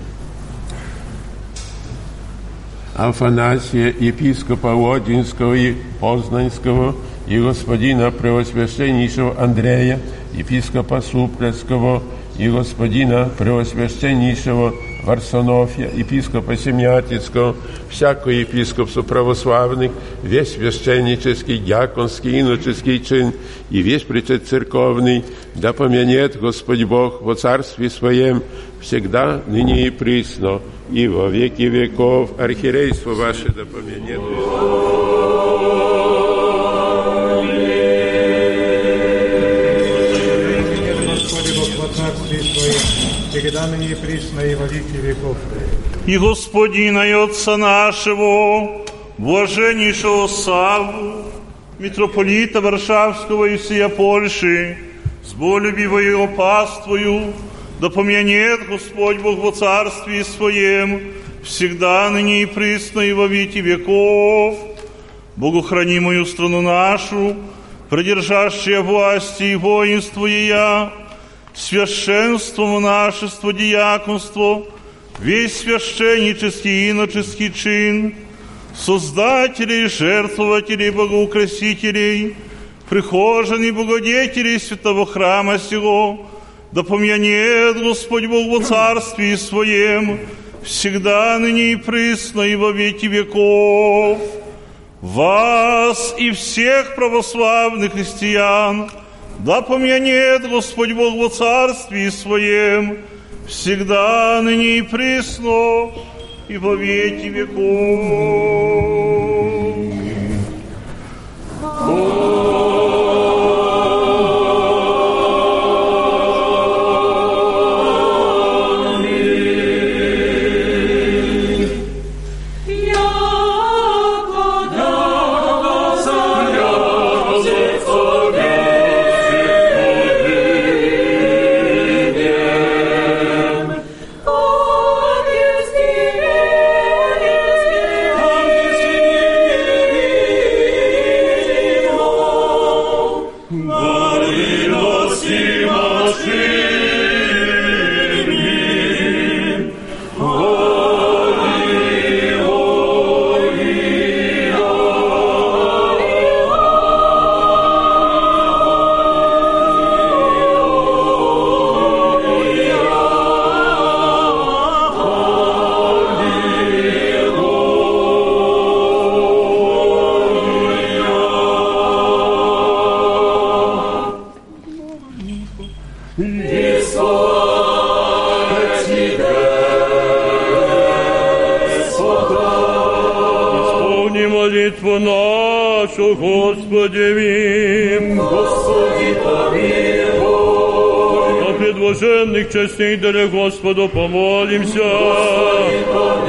Афанасия, епископа Лодинского и Познанского, и господина преосвященнейшего Андрея, епископа Суплецкого, и господина преосвященнейшего Варсонофия, епископа Семиатицкого, всякого епископства православных, весь священнический, дьяконский, иноческий чин и весь причет церковный, да помянет Господь Бог во царстве Своем всегда, ныне и присно, и во веки веков. Архиерейство ваше да помянет Господи Бог во царстве Своем, всегда ныне и присно, и во веки веков. И Господина и Отца нашего, блаженнейшего Савву, митрополита Варшавского и всея Польши, с болюбивою его паствою, да помянет Господь Бог во царстве Своем, всегда ныне и присно, и во веки веков. Богу храни мою страну нашу, продержащая власти и воинство ея, священство, монашество, диаконство, весь священнический и иноческий чин, создателей, жертвователей, богоукрасителей, прихожан и благодетелей святого храма сего, да помянет Господь Бог во царстве Своем, всегда ныне и присно, и во веки веков. Вас и всех православных христиан да помянет Господь Бог во царстве Своем, всегда ныне и присно, и во веки веков. Oh, Прими молитву нашу, Господи, вим. Господи, помилуй. О предложенных частей даре Господу помолимся. Господи,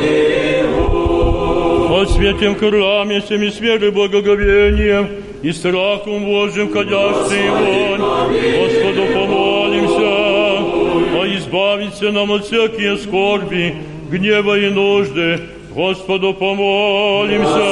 помилуй. О святем храме, всеми с верой, благоговением и страхом Божьим, ходящий вонь, Господу помолимся. О избавиться нам от всякие скорби, гнева и нужды, Господу помолимся.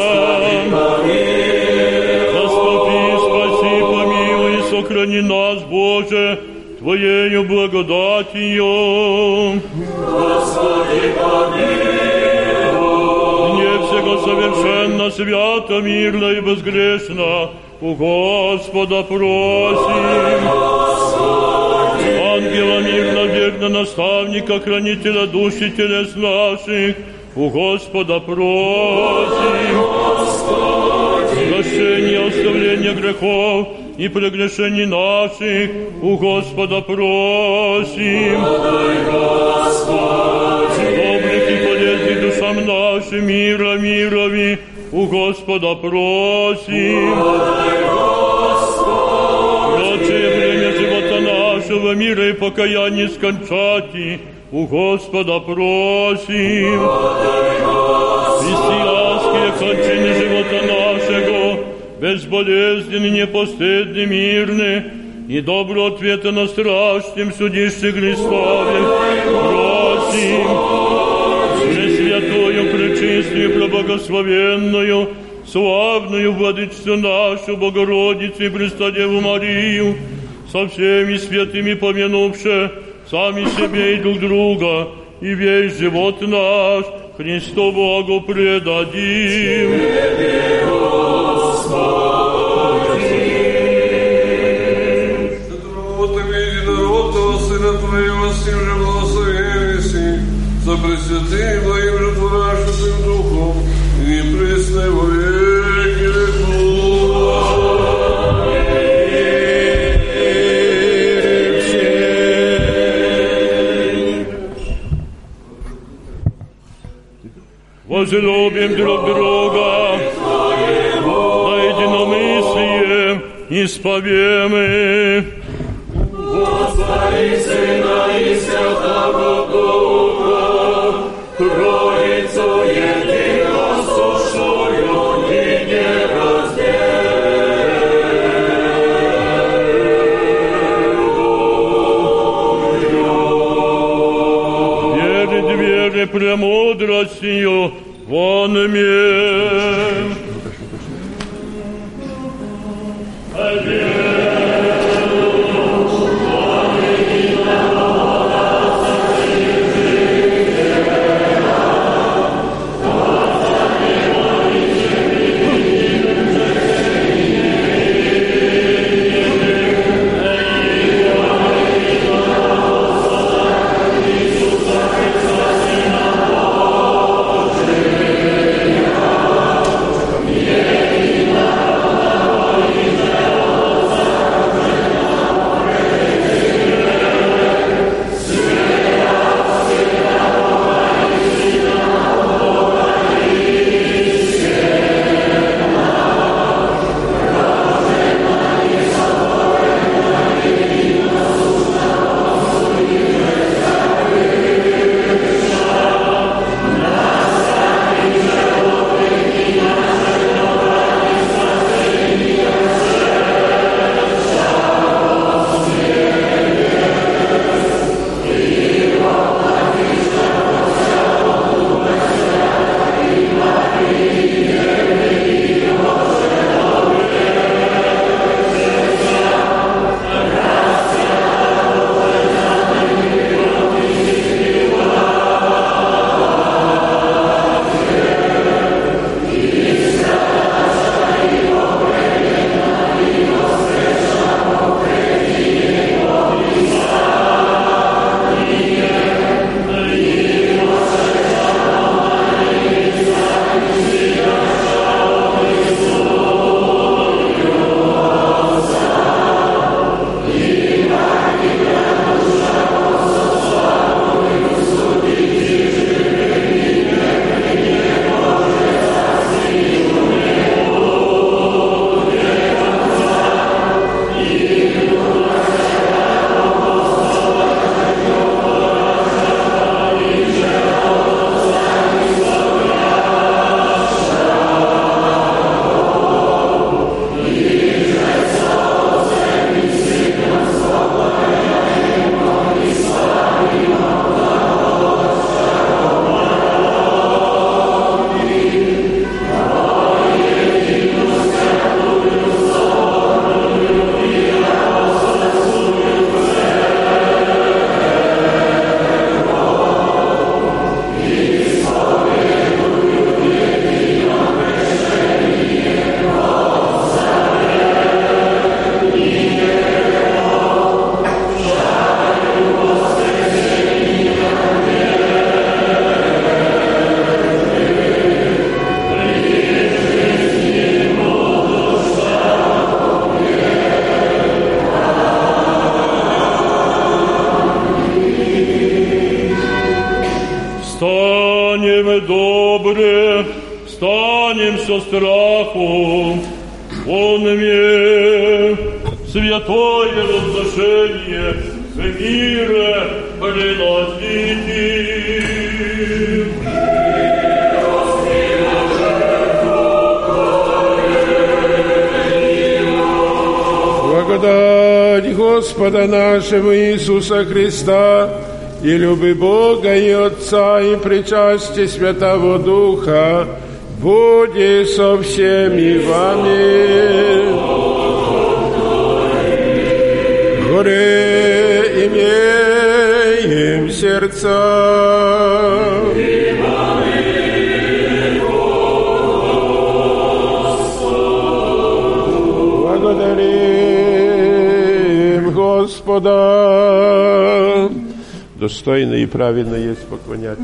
Заступи, спаси, помилуй и сохрани нас, Боже, Твоею благодатью. Господи, помилуй. Не всего совершенно, свято, мирно и безгрешно у Господа просим. Ангела мирно, верно, наставника, хранителя душ и телес наших, у Господа просим. Прощение, оставление грехов и прегрешений наших, у Господа просим. Добрых и полезных душам нашим, мира, мирови, у Господа просим. Прочее время живота нашего, мира и покаяния скончати, у Господа просим. Христианские кончины живота нашего, безболезненны, непостыдны, мирны, и добро ответа на страшном судище Христове просим. Пресвятую, пречистую, преблагословенную, славную Владычицу нашу, Богородицу и Престодеву Марию, со всеми святыми помянувши сами себе и друг друга, и весь живот наш Христу Богу предадим. За пресвятым Твоим животворящим Духом и пресно во веки веков. Возлюбим друг друга, на единомыслие исповемы. Господи, Сына и Святого Духа, Троицу единосущую и нераздельную. Веры, двери, премудростью, вон имеем. станем со страху. Он имеет святое разрешение в мире приносите. Благодать Господа нашего Иисуса Христа и любви Бога и Отца и причастие Святого Духа будет со всеми вами. Горе имеем сердца. Благодарим Господа. Достойно и правильно есть поклоняться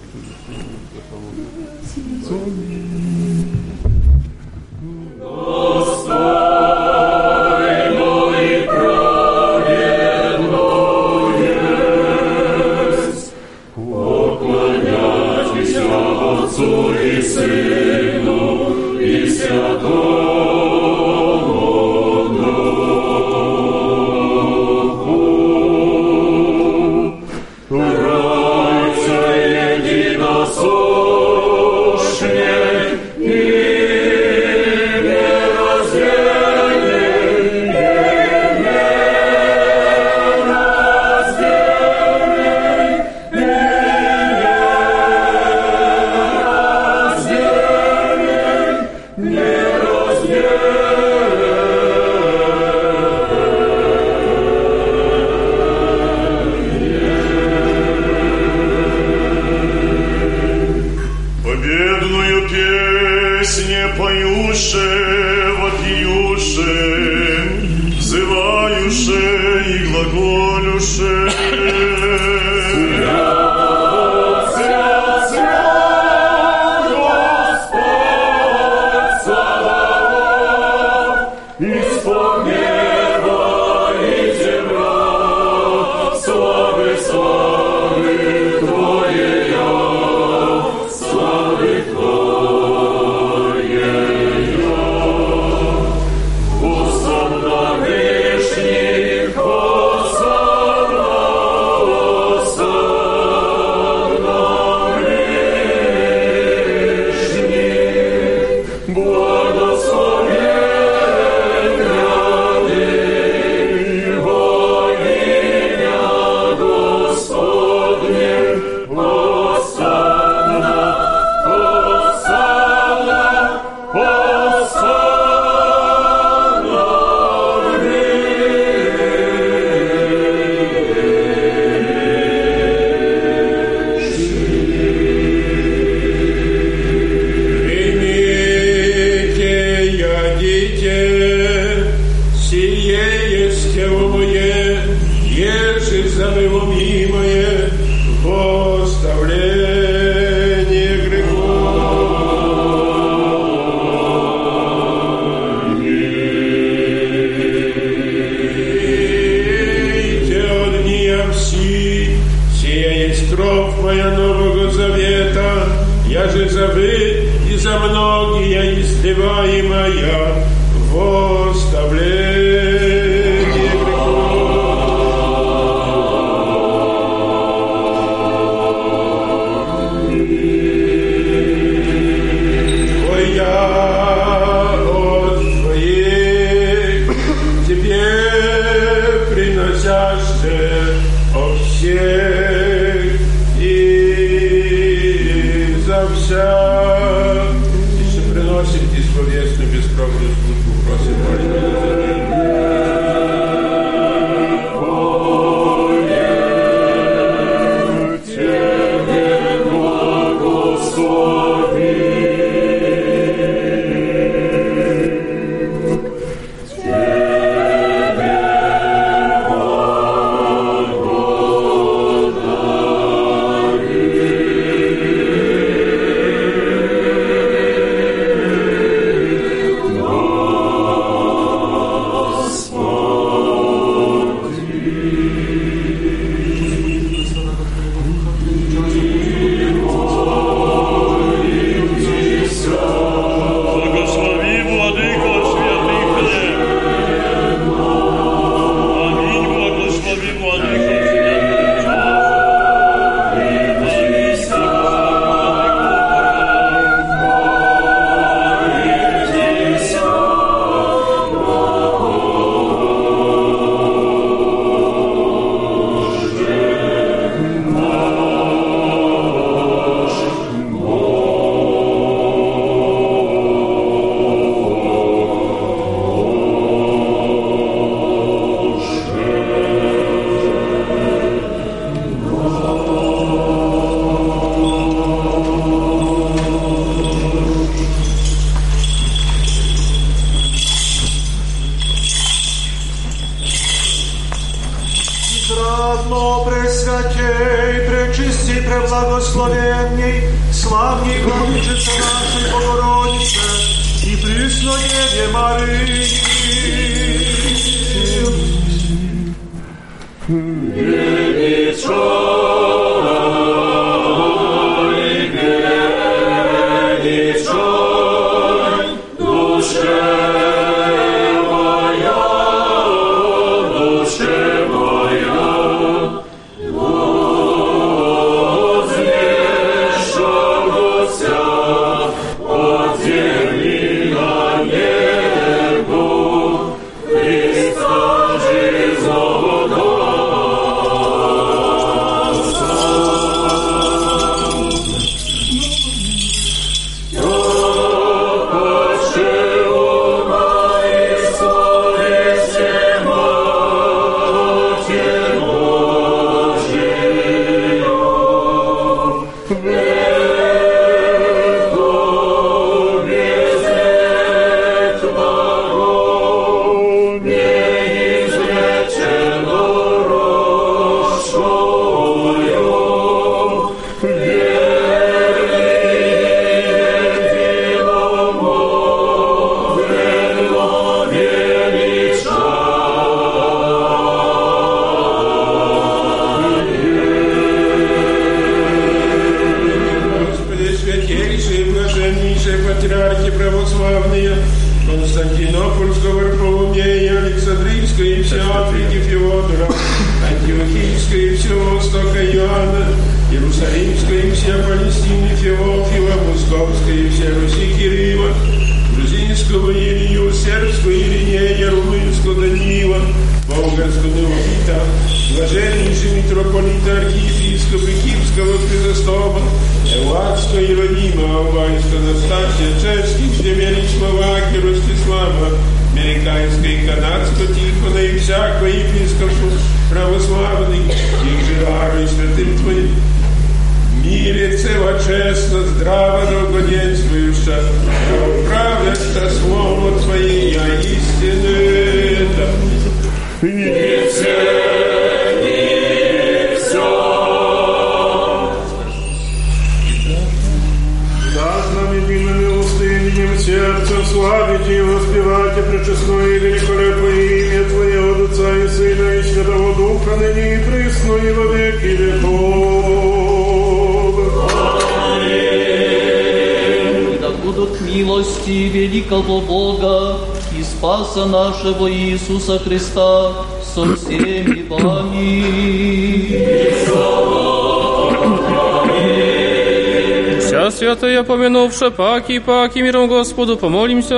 Отцу и Сыну и Святому Духу. Тройца единосущный и нераздельный, Господи. благословенней, славней Владычице нашей Богородице и Преснодеве Марии. Нашего Иисуса Христа со всеми вами. Вся святая помянувши паки миром Господу помолимся.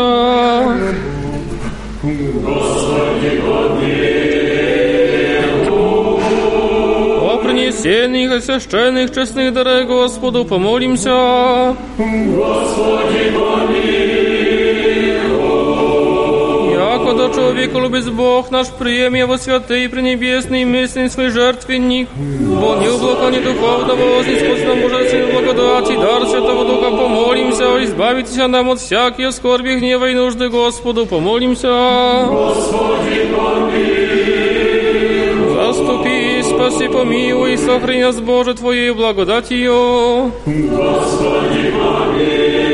Господи, о принесенных и священных честных дарах Господу помолимся. Господи, Когда человека любит Бог наш, приеми его святый, пренебесный, мысленный свой жертвенник, бо не облака, не духовного, вознеспость нам божественной благодати, дар Святого Духа, помолимся, избавитесь нам от всякие скорби, гнева и нужды, Господу, помолимся. Господи, помилуй. Заступи, спаси, помилуй, и сохрани нас, Боже, Твоей благодатью. Господи, помилуй.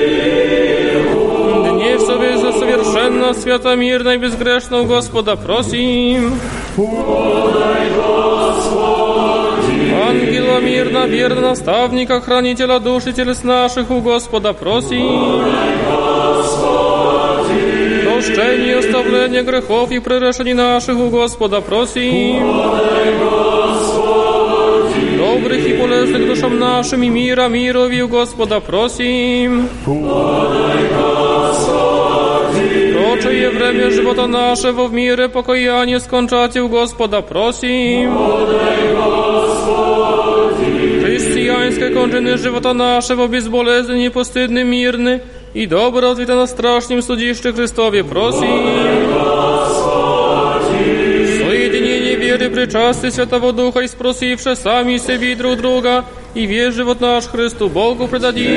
Совершенно, свято, мирно и безгрешно у Господа просим. Подай, Господи. Ангела мирно, верно, наставника, хранителя душ и телес наших у Господа просим. Подай, Господи. Прощение, оставление грехов и пререшений наших у Господа просим. Подай, Господи. Добрых и полезных душам нашим и мира, мирови у Господа просим. Подай, Господи. Прочее время живота нашего в мире покаяние скончати у Господа просим. Подай, Господи. Христианской кончины живота нашего безболезненный, постыдный, мирный и добро ответа на страшном судище Христове просим. Подай, Господи. Соединение веры, причастия Святого Духа и спросивши сами себе и друг друга, и весь живот наш Христу Богу предадим.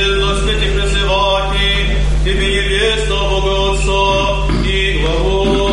Тебе небесно, Бога Отца и главу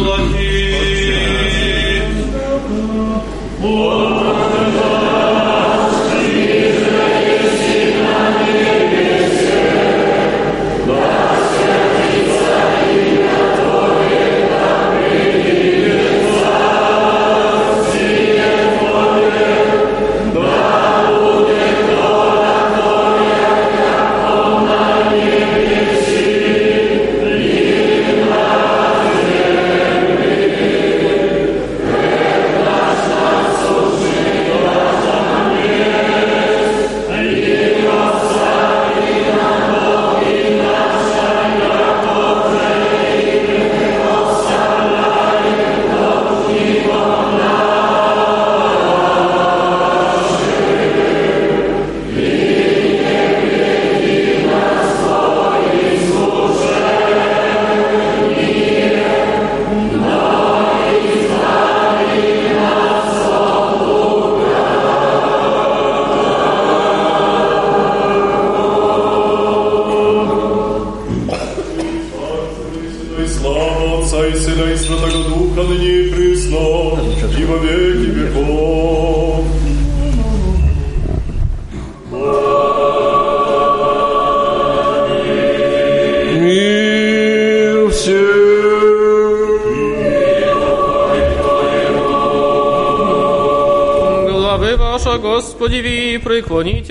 Господи, преклоните.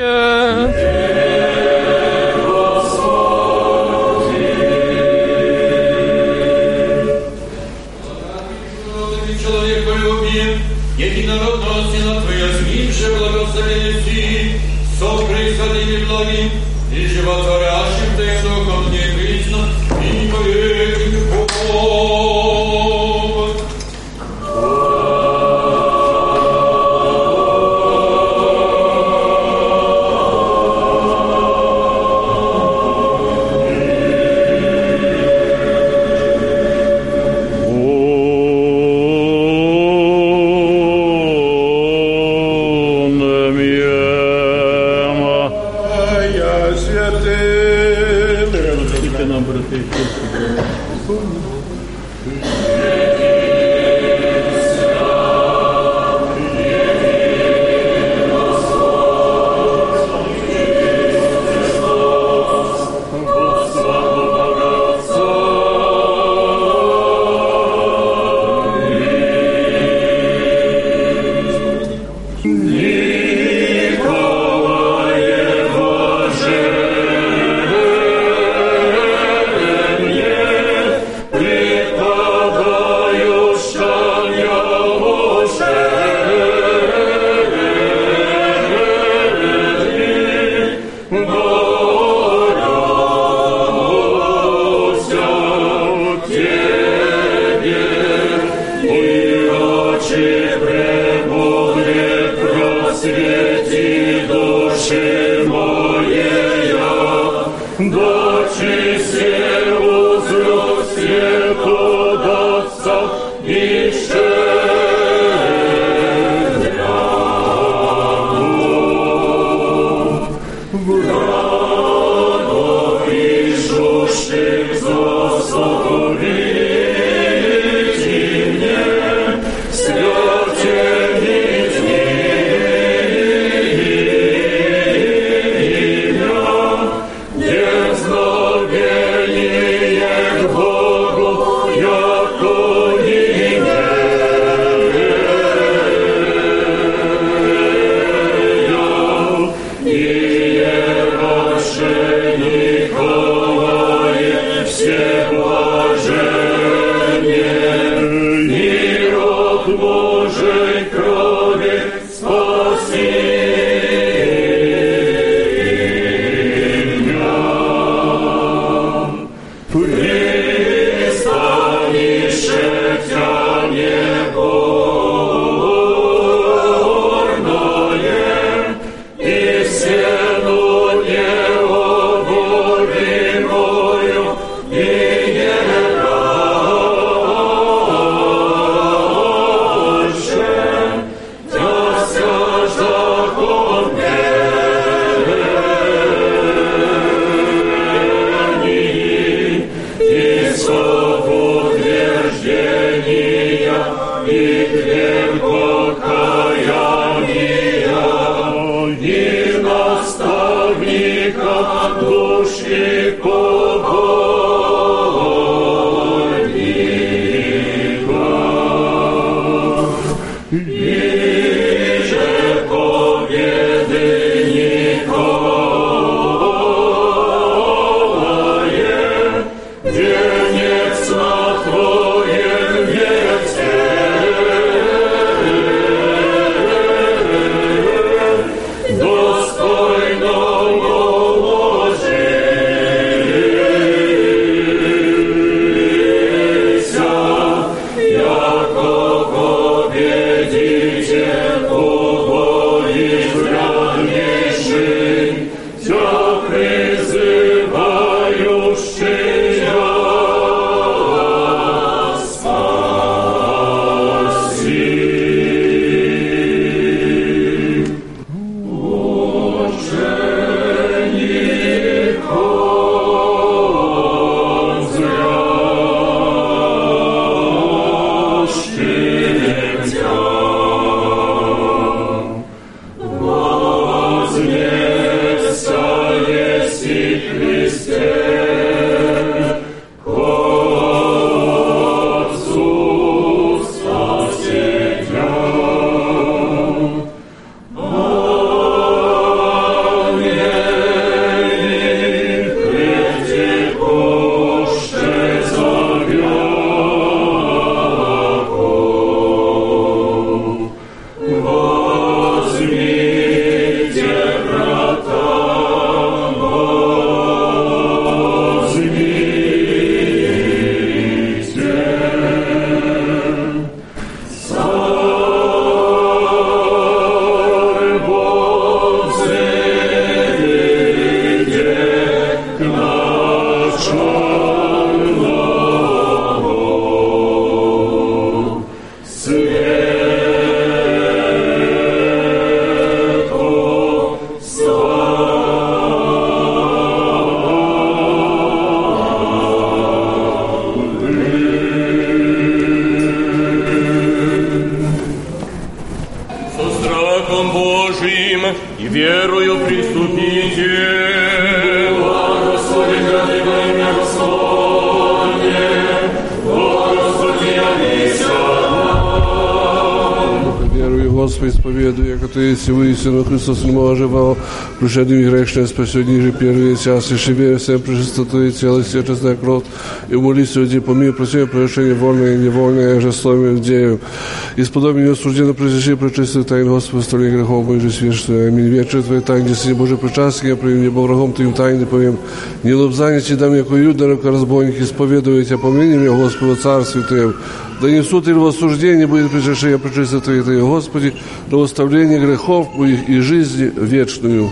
Человеколюбие, единородного Сына Твоя, смирше благословенности, со происходными благим и животворящим Твоим Духом не присно, и по веки веков. Очи премудрые, Synu Chrystus umożewał przyszedł i grzeszne spasienie, że pierwszy czas jeszcze wierzę всем пречистоту ciała i czesna krew i молиться Тебе помилуй, просим прощения вольное и невольное, же словами дею. И сподобие не осуждено прежде пречистую тайну Господа, столе грехов Божий священствуя. Аминь. Вечер Твоей тайны, Сыне Божий причастие, я привим небо врагом Твоим тайны повем. Не лобзание Ти дам, яко юда, рака разбойник, исповедую Тебя, помяни меня, Господа, Царствие Твоем. Да не суд или в осуждении будет причащение пречистия Твоей, Господи, до восставления грехов моих и жизни вечную.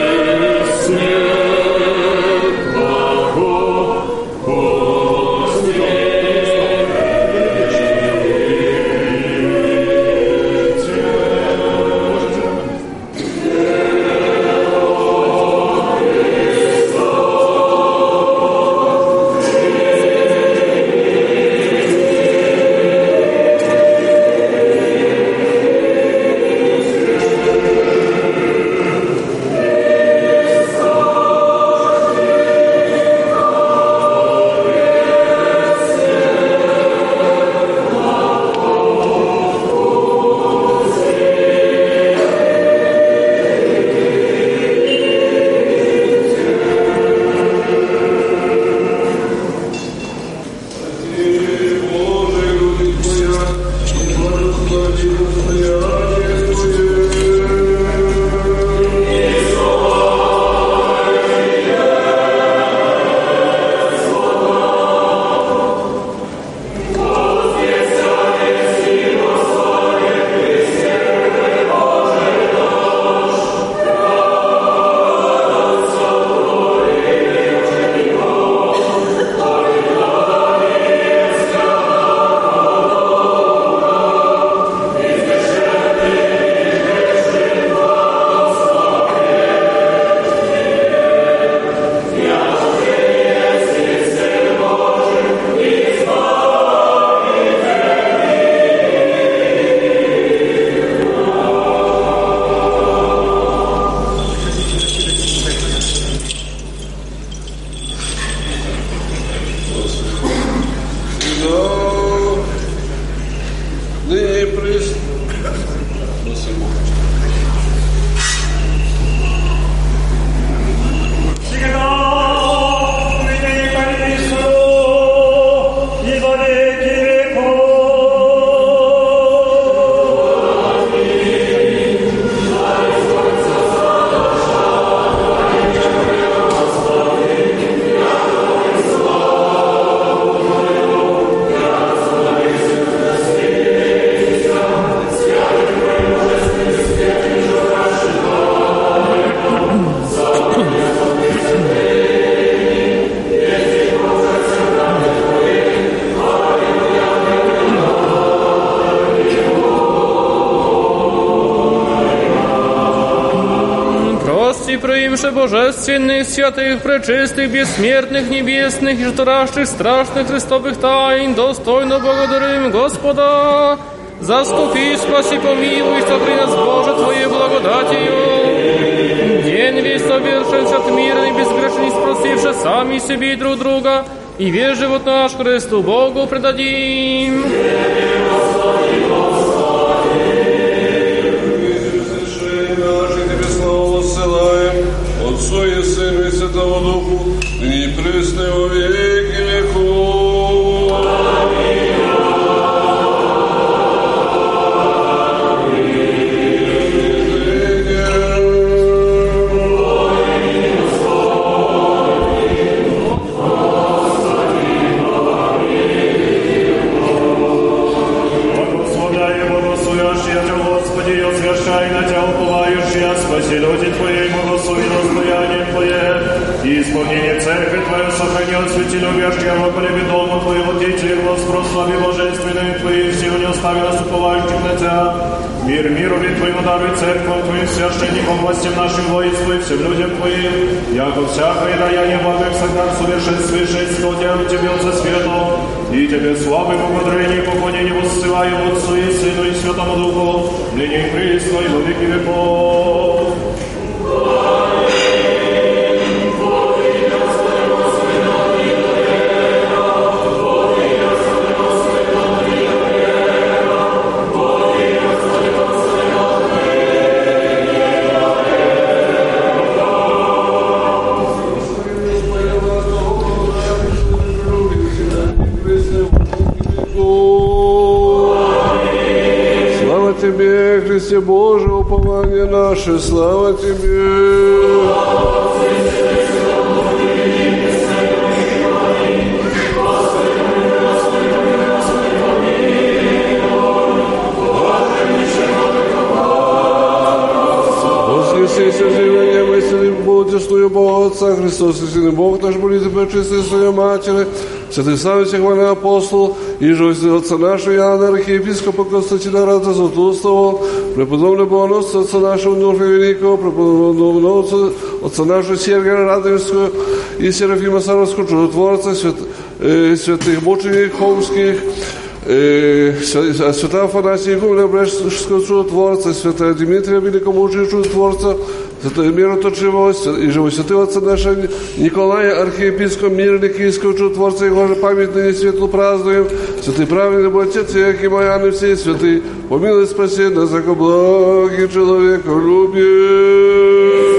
Господи, божественных, святых, пречистых, бессмертных, небесных и жторащих, страшных Христовых тайн, достойно благодарим Господа. Заступи, спаси, помилуй, сотри нас, Боже, Твоей благодатью. День весь совершен, свят мирный, безгрешный, спросивши сами себе и друг друга, и весь живот наш Христу Богу предадим. Отцу и Сыну и Святому Духу, ныне и присно и во веки веков. Благословляй и благословящий Тебя, Господи, и освящай на Тебя уповающие, спаси люди Твоей, благослови достояние Твое, и исполнение церкви Твою сохрани от свети любящего, поколеби дома Твоего, Дети, и глаз прослави божественные Твои, силу не остави нас уповающих на Тебя. Мир миру ведь Твоему даруй церковь Твоим, священникам, властям нашим, воинству и всем людям Твоим, яко всякое даяние благо всегда совершенствуешь, Господи, Тебе от свету, и Тебе славы, благодарение и поклонение воссылаем Отцу и Сыну и Святому Духу, ныне и присно и во веки веков. Слава Тебе, Христе Божий, упование наше, слава Тебе. Воскресися живение мысли, будешную Бога Отца, Христос, истинный Бог наш, будет и пречистый Своей Матери, святый славе всех хвальный апостол, и же Отца нашего Иоанна, архиепископа Константина Рада Златоустого, преподобного Богоносца Отца нашего Нурфа Великого, преподобного Отца нашего Сергия Радовского и Серафима Саровского, чудотворца, святых мучеников Холмских, святого Афанасия Игумля Брестского чудотворца, святого Дмитрия Великомученика чудотворца, святого мироточивого и живого святого Отца нашего Николая, архиепископа мирный киевского чудотворца, его же память ныне светло празднуем, святый праведный Бог Отец, Яким Иоанн и все святые, помилуй спаси нас, яко благий человеколюбие.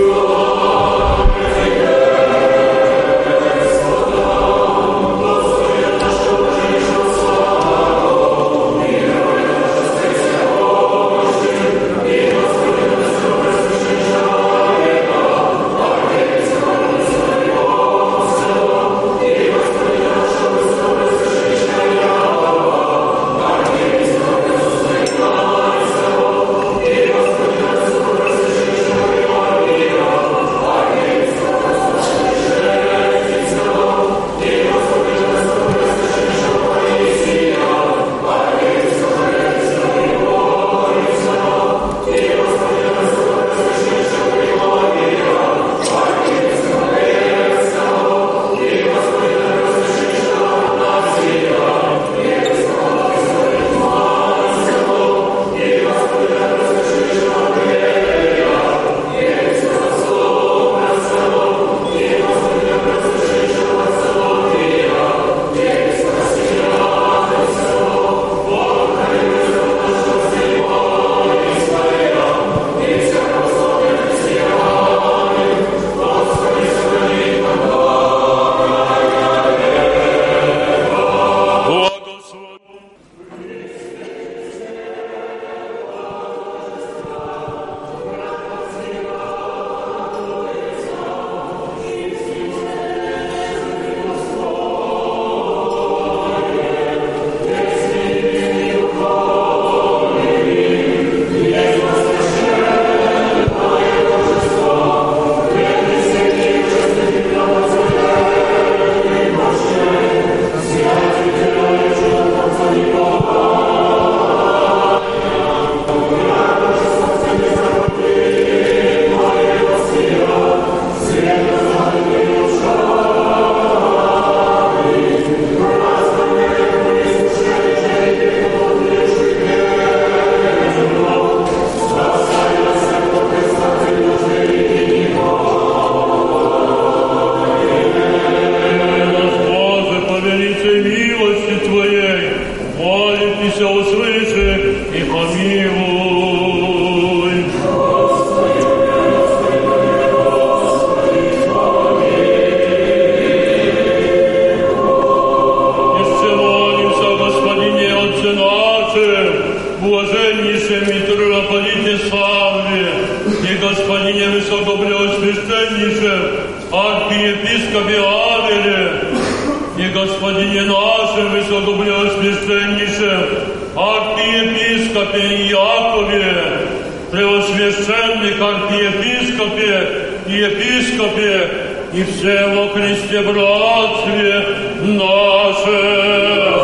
архиепископе Авеле и господине нашем высокопреосвященнейшем архиепископе Якове, преосвященных архиепископе и епископе и все во Христе братстве наше.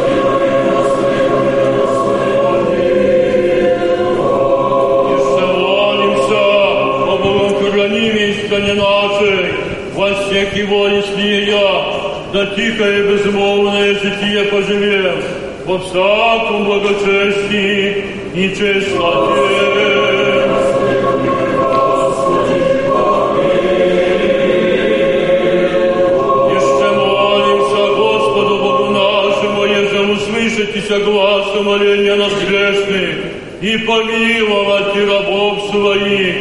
Искане нашей, во всех его я, да тихое и безмолвное житие поживем, во всяком благочестии и чистоте. Еще молимся Господу Богу нашему, еже услышитеся гласа моления нас грешных и помиловать и рабов своих.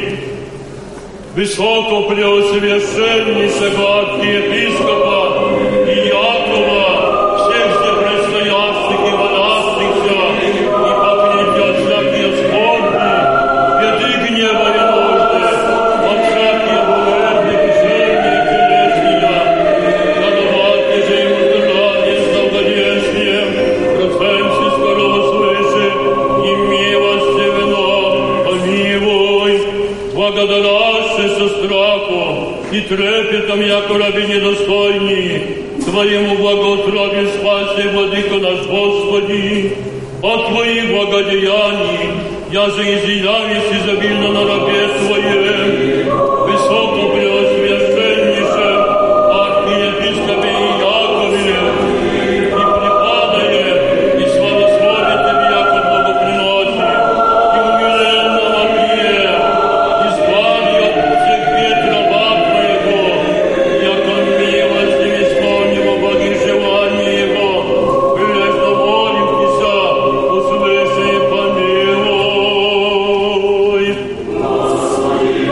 Высокопреосвященнейшего архиепископа и Якова, всех здесь предстоящих и молящихся, и покрыть от всякие скорби, беды, гнева и нужды, от всякие болезни, кишения и телесния, даровать же ему здравие с долгодействием, проценте скорого свыше, и милостивно помилуй, благодаря со страхом и трепетом, яко раби недостойни, Твоему благоутробию спаси, Владыко наш Господи, от Твоих благодеяний, я же изъявись изобильно на рабе Твоем, высокопреосвященнейшем архиепископе Якове, и преподае, и славословит Тебе, яко благоприносит, и умиленно вопие, избави от всех бед раба Твоего, яко милостив исполнив благих желаний Его, прилежно молимся, услыши и помилуй. Господи,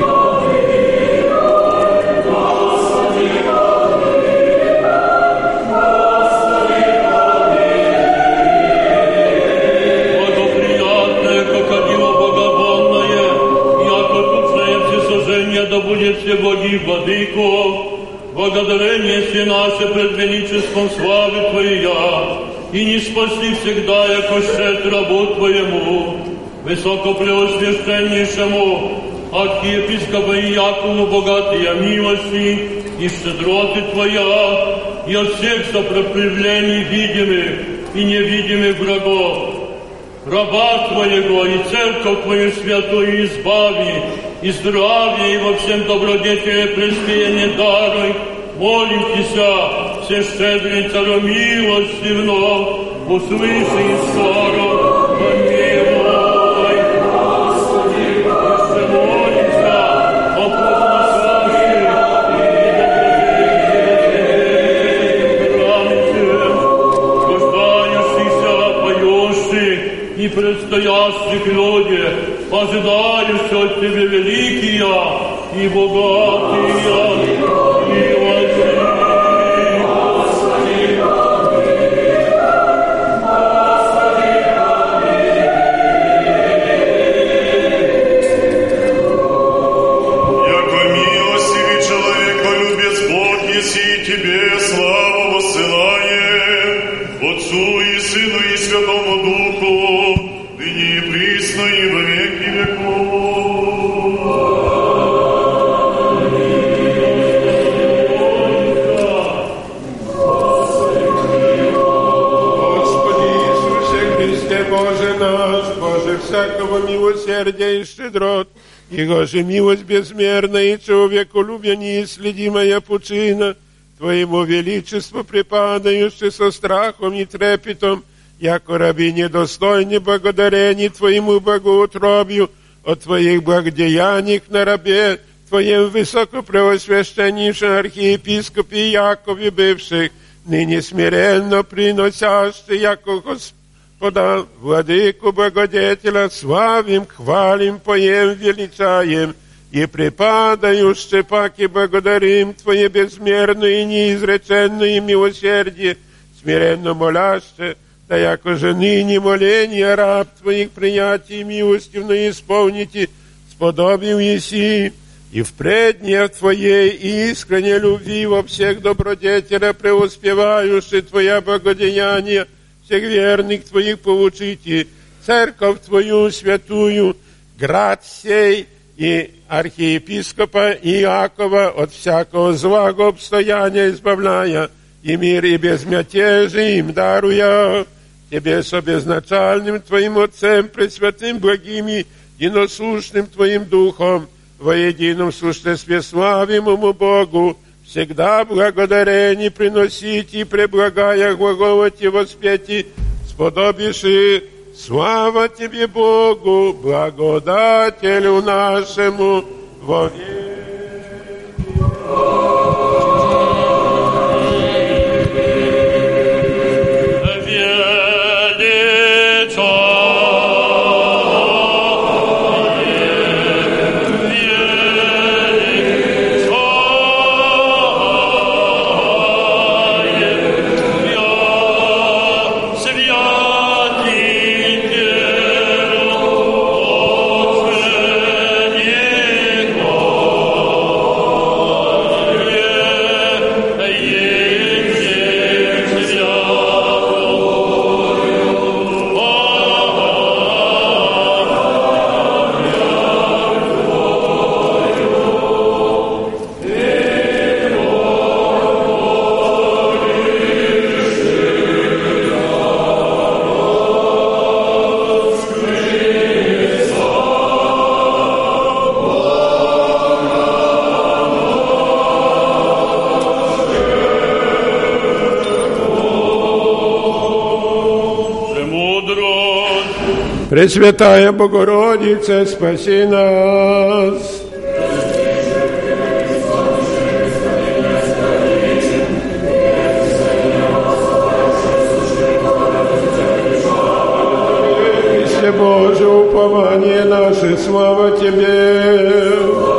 благоприятное, как одило богобонное, яко тучное всесожжение, да будет все боги владыко, благодарение все наше пред величеством славы Твоя, и не спаси всегда, яко щед рабу Твоему, высокопреосвященнейшему архиепископу Якову, богатые милости и щедроты Твоя, и от всех сопротивлений видимых и невидимых врагов, раба Твоего и церковь Твою святую избави, и здравие, и во всем добродетеле преспеяние даруй, молимся, все щедрый царю милостивно, услыши и скоро помилуй. Господи, еще молимся о послушавших и предстоящих людях, ожидающих от Тебе великие и богатые милости. Яко милостивый человеколюбец Бог, еси Тебе славу воссылаем, Отцу и Сыну и Святому Духу, ныне и присно и во веки Господи Иисусе Христе, Боже наш, Боже всякого милосердия и щедрот, Его же милость безмерная и человеколюбие неисследимая пучина, Твоему величеству припадающий со страхом и трепетом, яко раби недостойни благодарений Твоему богоутробию, от Твоих благодеяниях на рабе Твоем высокопреосвященнейшем архиепископе Якове бывших, ныне смиренно приносящий, яко Господа, Владыку Благодетеля, славим, хвалим, поем, величаем, и припадающий паки благодарим Твое безмерное и неизреченное милосердие, смиренно моляще, да яко же ныне моление раб Твоих принятий милостивно исполните, сподобил еси и впредь не в Твоей искренней любви во всех добродетелях преуспевающих Твоя благодеяние, всех верных Твоих поучите, церковь Твою святую, град сей и архиепископа Иакова от всякого злого обстояния избавляя, и мир и безмятежие им даруя, Тебе со безначальным Твоим Отцем, пресвятым, благим и единосущным Твоим Духом, во едином существе славимому Богу, всегда благодарение приносить и преблагая глаголать и воспеть, сподобишь. Слава Тебе, Богу, благодателю нашему, во веки. Пресвятая Богородица, спаси нас. Христе Боже, упование наше, слава Тебе.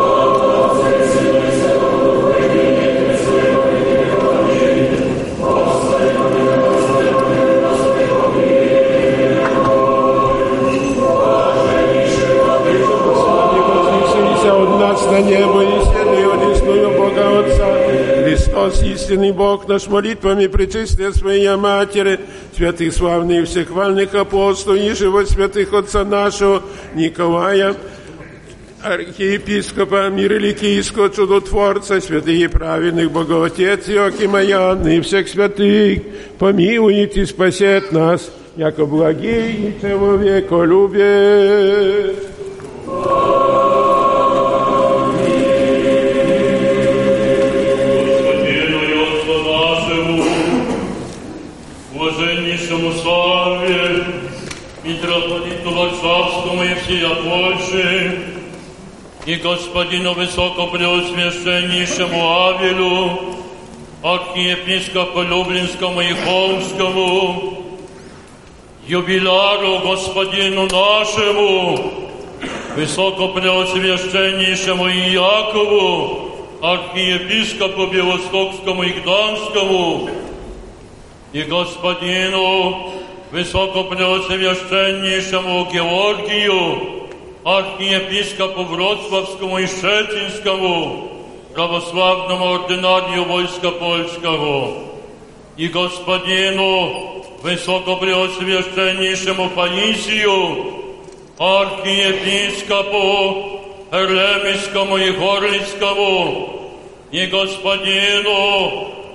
На небо истинный, одесную Бога Отца. Христос, истинный Бог наш, молитвами пречистия Своей Матери, святых славных всехвальных апостолов, и живо святых Отца нашего Николая, архиепископа Мириликийского чудотворца, святых и праведных Богоотец Иоаким и Иоанна, и всех святых, помилует и спасет нас, яко благий и человеколюбец. Блаженнейшему Савве, митрополиту Варшавскому и всея Польши, и господину высокопреосвященнейшему Авелю, архиепископу Люблинскому и Холмскому, юбиляру господину нашему, высокопреосвященнейшему Иакову, архиепископу Белостокскому и Гданскому, и господину высокопреосвященнейшему Георгию, архиепископу Вроцлавскому и Щецинскому, православному ординарию войска польского, и господину высокопреосвященнейшему Паисию, архиепископу Эремискому и Горлицкому, и господину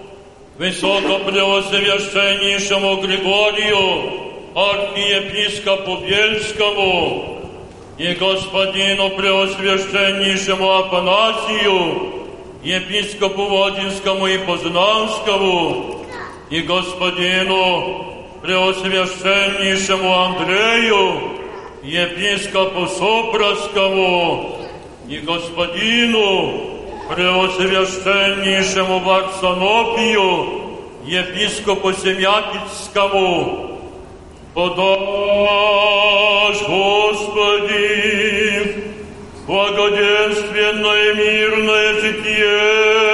высокопреосвященнейшему Григорию, архиепископу Бельскому, и господину преосвященнейшему Афанасию, епископу Владимирскому и Познанскому, и господину преосвященнейшему Андрею, епископу Сопровскому, и господину преосвященнейшему Варсанопию, епископу Семятицкому, подашь, Господи, благоденственное мирное житие,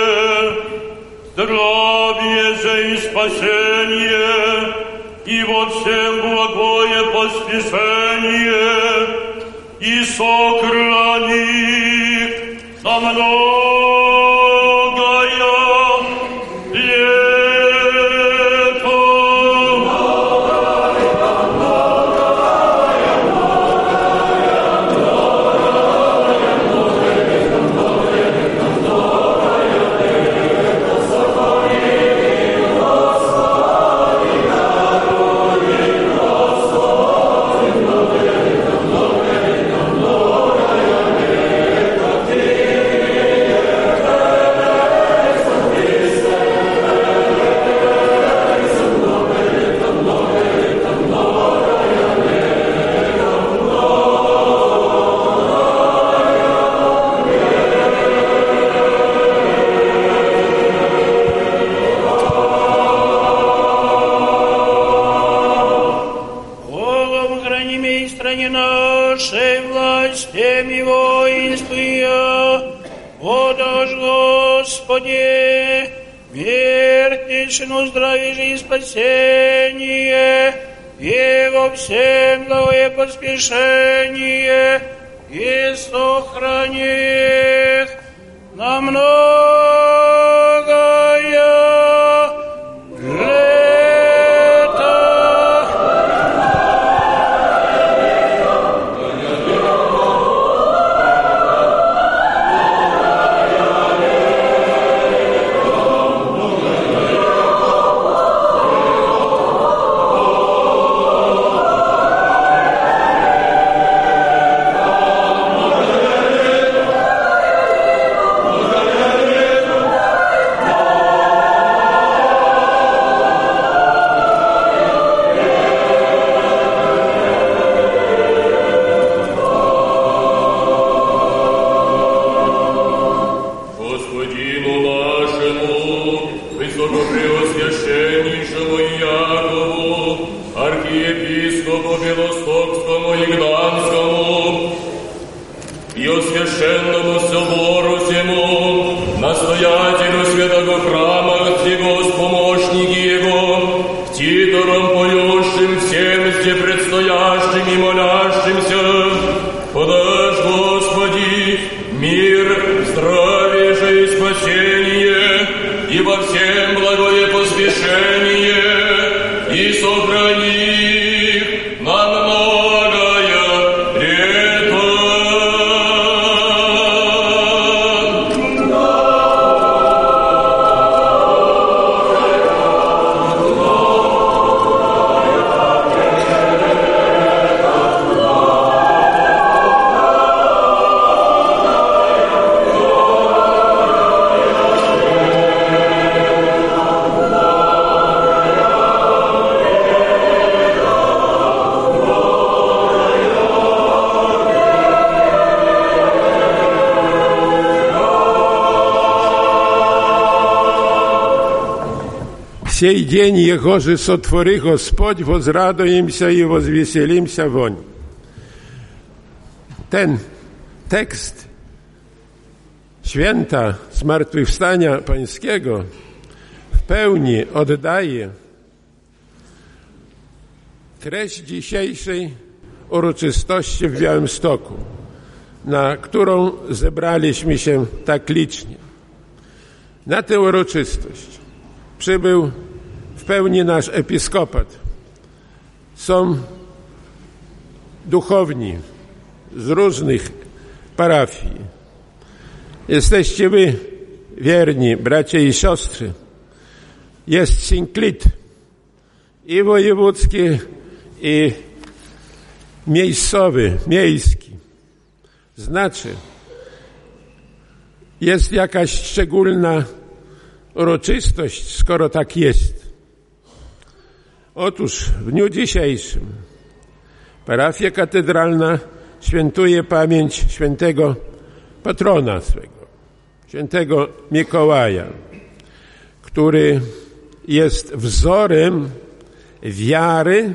здравие же и спасение, и во всем благое поспешение, и сохрани на Поспешение и сохрани их на многое лето. Сей день Его же сотвори Господь, возрадуемся и возвеселимся вонь. Ten tekst święta Zmartwychwstania Pańskiego w pełni oddaje treść dzisiejszej uroczystości w Białymstoku, na którą zebraliśmy się tak licznie. Na tę uroczystość przybył w pełni nasz episkopat. Są duchowni z różnych parafii. Jesteście wy wierni, bracia i siostry. Jest synklit i wojewódzki, i miejscowy, miejski. Znaczy, jest jakaś szczególna uroczystość, skoro tak jest. Otóż w dniu dzisiejszym parafia katedralna świętuje pamięć świętego patrona swego, świętego Mikołaja, który jest wzorem wiary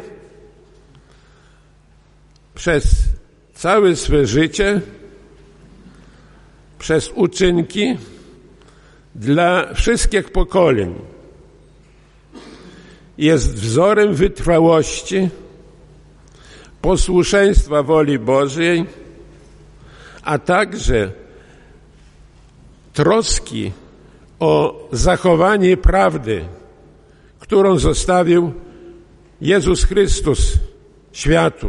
przez całe swe życie, przez uczynki dla wszystkich pokoleń. Jest wzorem wytrwałości, posłuszeństwa woli Bożej, a także troski o zachowanie prawdy, którą zostawił Jezus Chrystus światu.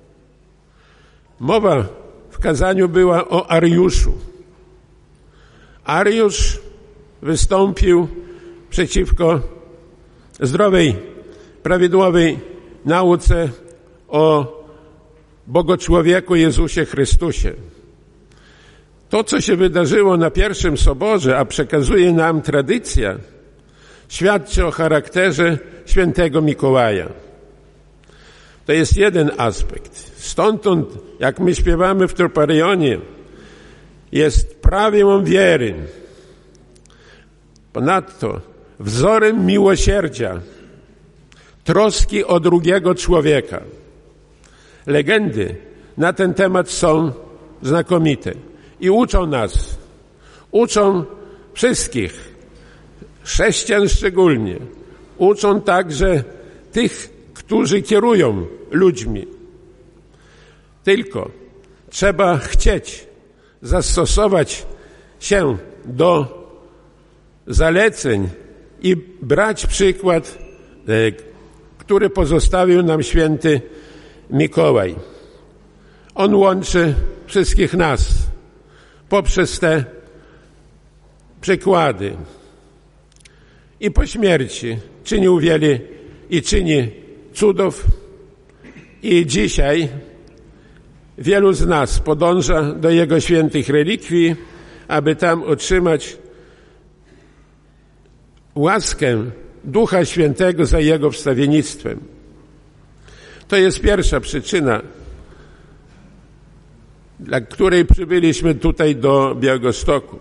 Mowa w kazaniu była o Ariuszu. Ariusz wystąpił przeciwko zdrowej, prawidłowej nauce o Bogoczłowieku Jezusie Chrystusie. To, co się wydarzyło na pierwszym soborze, a przekazuje nam tradycja, świadczy o charakterze świętego Mikołaja. To jest jeden aspekt. Stąd, jak my śpiewamy w Troparionie, jest prawem wiery. Ponadto wzorem miłosierdzia, troski o drugiego człowieka. Legendy na ten temat są znakomite i uczą nas, uczą wszystkich, chrześcijan szczególnie, uczą także tych, którzy kierują ludźmi. Tylko trzeba chcieć zastosować się do zaleceń i brać przykład, który pozostawił nam święty Mikołaj. On łączy wszystkich nas poprzez te przykłady. I po śmierci czynił wiele i czyni cudów. I dzisiaj wielu z nas podąża do Jego świętych relikwii, aby tam otrzymać łaskę Ducha Świętego za Jego wstawiennictwem. To jest pierwsza przyczyna, dla której przybyliśmy tutaj do Białegostoku.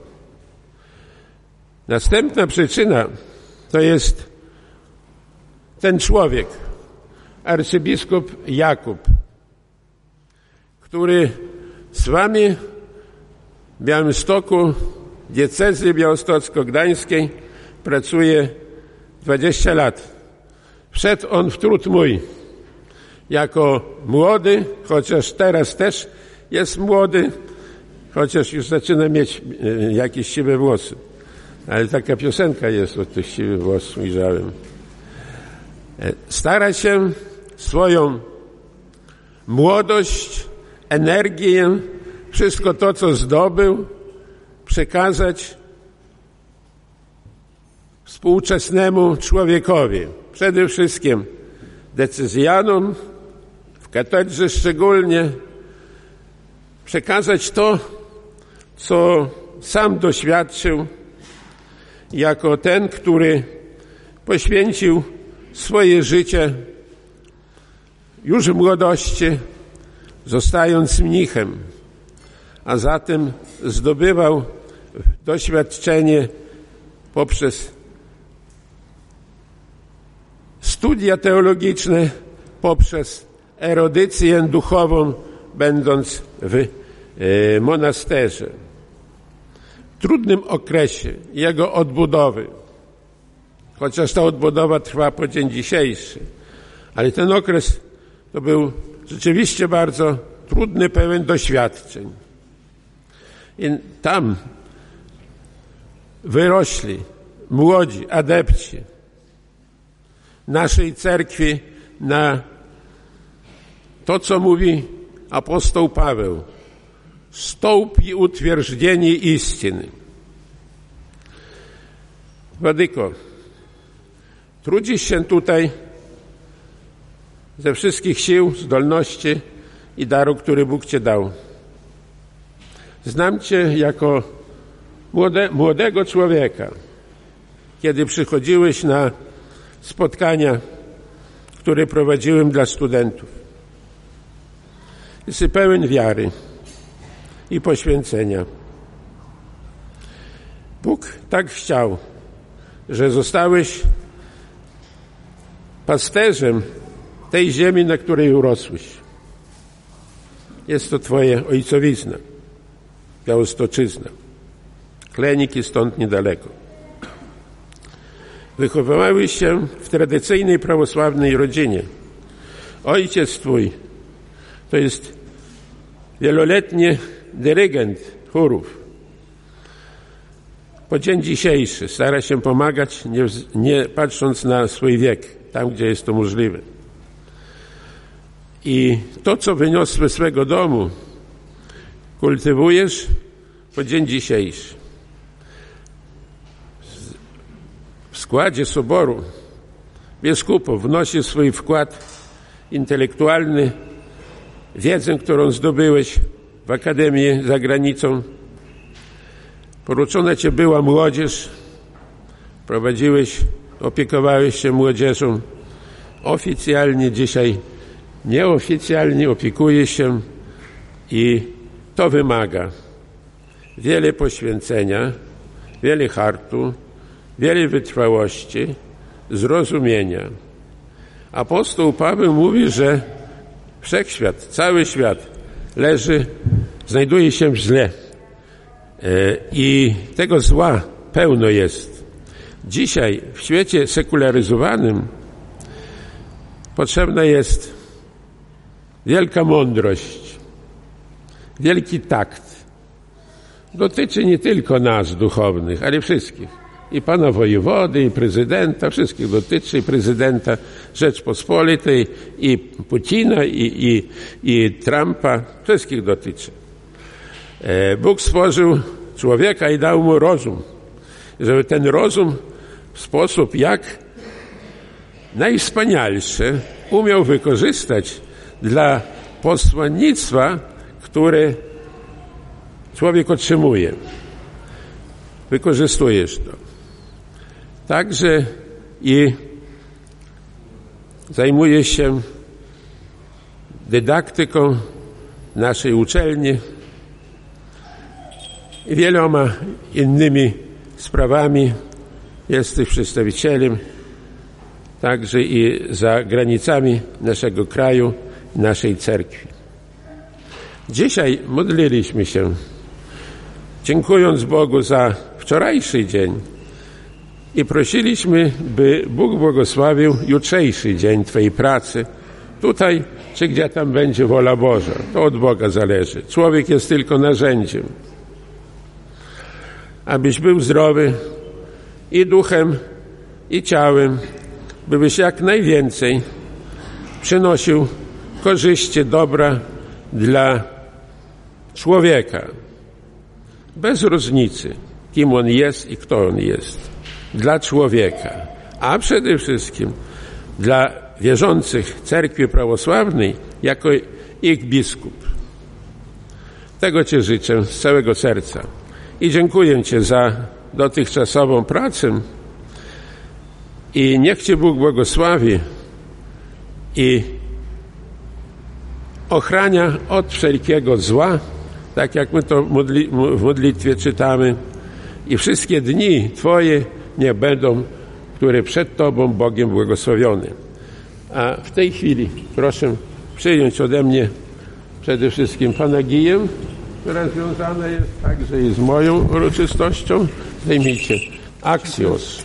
Następna przyczyna to jest ten człowiek, arcybiskup Jakub, który z wami w Białymstoku, diecezy białostocko-gdańskiej pracuje 20 lat. Wszedł on w trud mój jako młody, chociaż teraz też jest młody, chociaż już zaczyna mieć jakieś siwe włosy. Ale taka piosenka jest od tych siwych włosów, ujrzałem. Stara się swoją młodość, energię, wszystko to, co zdobył, przekazać współczesnemu człowiekowi. Przede wszystkim decyzjanom, w katedrze szczególnie, przekazać to, co sam doświadczył jako ten, który poświęcił swoje życie już w młodości, zostając mnichem, a zatem zdobywał doświadczenie poprzez studia teologiczne, poprzez erudycję duchową, będąc w monasterze. W trudnym okresie jego odbudowy, chociaż ta odbudowa trwa po dzień dzisiejszy, ale ten okres to był rzeczywiście bardzo trudny, pełen doświadczeń. I tam wyrośli młodzi adepci naszej cerkwi na to, co mówi apostoł Paweł: stołp i utwierdzenie istiny. Władyko, trudzisz się tutaj ze wszystkich sił, zdolności i daru, który Bóg Cię dał. Znam Cię jako młodego człowieka, kiedy przychodziłeś na spotkania, które prowadziłem dla studentów. Jesteś pełen wiary i poświęcenia. Bóg tak chciał, że zostałeś pasterzem tej ziemi, na której urosłeś. Jest to Twoja ojcowizna, Białostoczyzna. Kleniki stąd niedaleko. Wychowywałeś się w tradycyjnej prawosławnej rodzinie. Ojciec Twój to jest wieloletni dyrygent chórów. po dzień dzisiejszy stara się pomagać, nie patrząc na swój wiek, tam gdzie jest to możliwe. I to, co wyniosłeś z swego domu, kultywujesz po dzień dzisiejszy. W składzie soboru biskupów wnosi swój wkład intelektualny, wiedzę, którą zdobyłeś w Akademii za granicą. Poruczona Ci była młodzież, opiekowałeś się młodzieżą. Oficjalnie dzisiaj, nieoficjalnie opiekujesz się i to wymaga wiele poświęcenia, wiele hartu, wiele wytrwałości, zrozumienia. Apostoł Paweł mówi, że wszechświat, cały świat znajduje się w zle i tego zła pełno jest. Dzisiaj w świecie sekularyzowanym potrzebna jest wielka mądrość, wielki takt. Dotyczy nie tylko nas duchownych, ale wszystkich. I pana wojewody, i prezydenta, wszystkich dotyczy, i prezydenta Rzeczpospolitej, i Putina, i Trumpa, wszystkich dotyczy. Bóg stworzył człowieka i dał mu rozum, żeby ten rozum w sposób jak najwspanialszy umiał wykorzystać dla posłannictwa, które człowiek otrzymuje. Wykorzystujesz to. Także i zajmujesz się dydaktyką naszej uczelni i wieloma innymi sprawami. Jesteś przedstawicielem także i za granicami naszego kraju, naszej cerkwi. Dzisiaj modliliśmy się, dziękując Bogu za wczorajszy dzień i prosiliśmy, by Bóg błogosławił jutrzejszy dzień Twojej pracy, tutaj czy gdzie tam będzie wola Boża. To od Boga zależy. Człowiek jest tylko narzędziem. Abyś był zdrowy i duchem, i ciałem, byś jak najwięcej przynosił korzyści, dobra dla człowieka. Bez różnicy, kim on jest i kto on jest. Dla człowieka, a przede wszystkim dla wierzących Cerkwi Prawosławnej jako ich biskup. Tego Ci życzę z całego serca i dziękuję Ci za dotychczasową pracę i niech Cię Bóg błogosławi i ochrania od wszelkiego zła, tak jak my to w modlitwie czytamy, i wszystkie dni Twoje nie będą, które przed Tobą Bogiem błogosławione. A w tej chwili proszę przyjąć ode mnie przede wszystkim Panagiję, która związana jest także i z moją uroczystością. Zajmijcie Axios.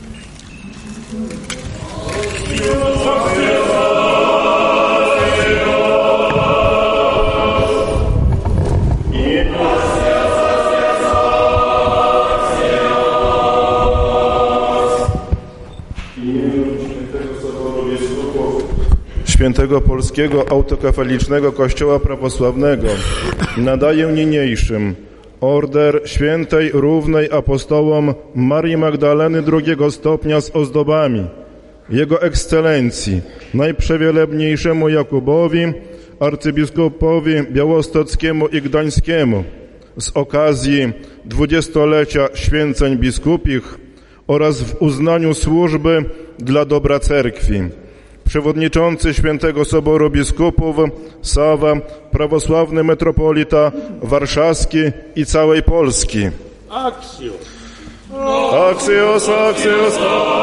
Świętego Polskiego Autokefalicznego Kościoła Prawosławnego nadaję niniejszym Order Świętej Równej Apostołom Marii Magdaleny II stopnia z ozdobami, Jego Ekscelencji, Najprzewielebniejszemu Jakubowi, arcybiskupowi białostockiemu i gdańskiemu z okazji 20-lecia święceń biskupich oraz w uznaniu służby dla dobra Cerkwi. Przewodniczący Świętego Soboru Biskupów Sawa, prawosławny metropolita warszawski i całej Polski. Axios. Axios, Axios,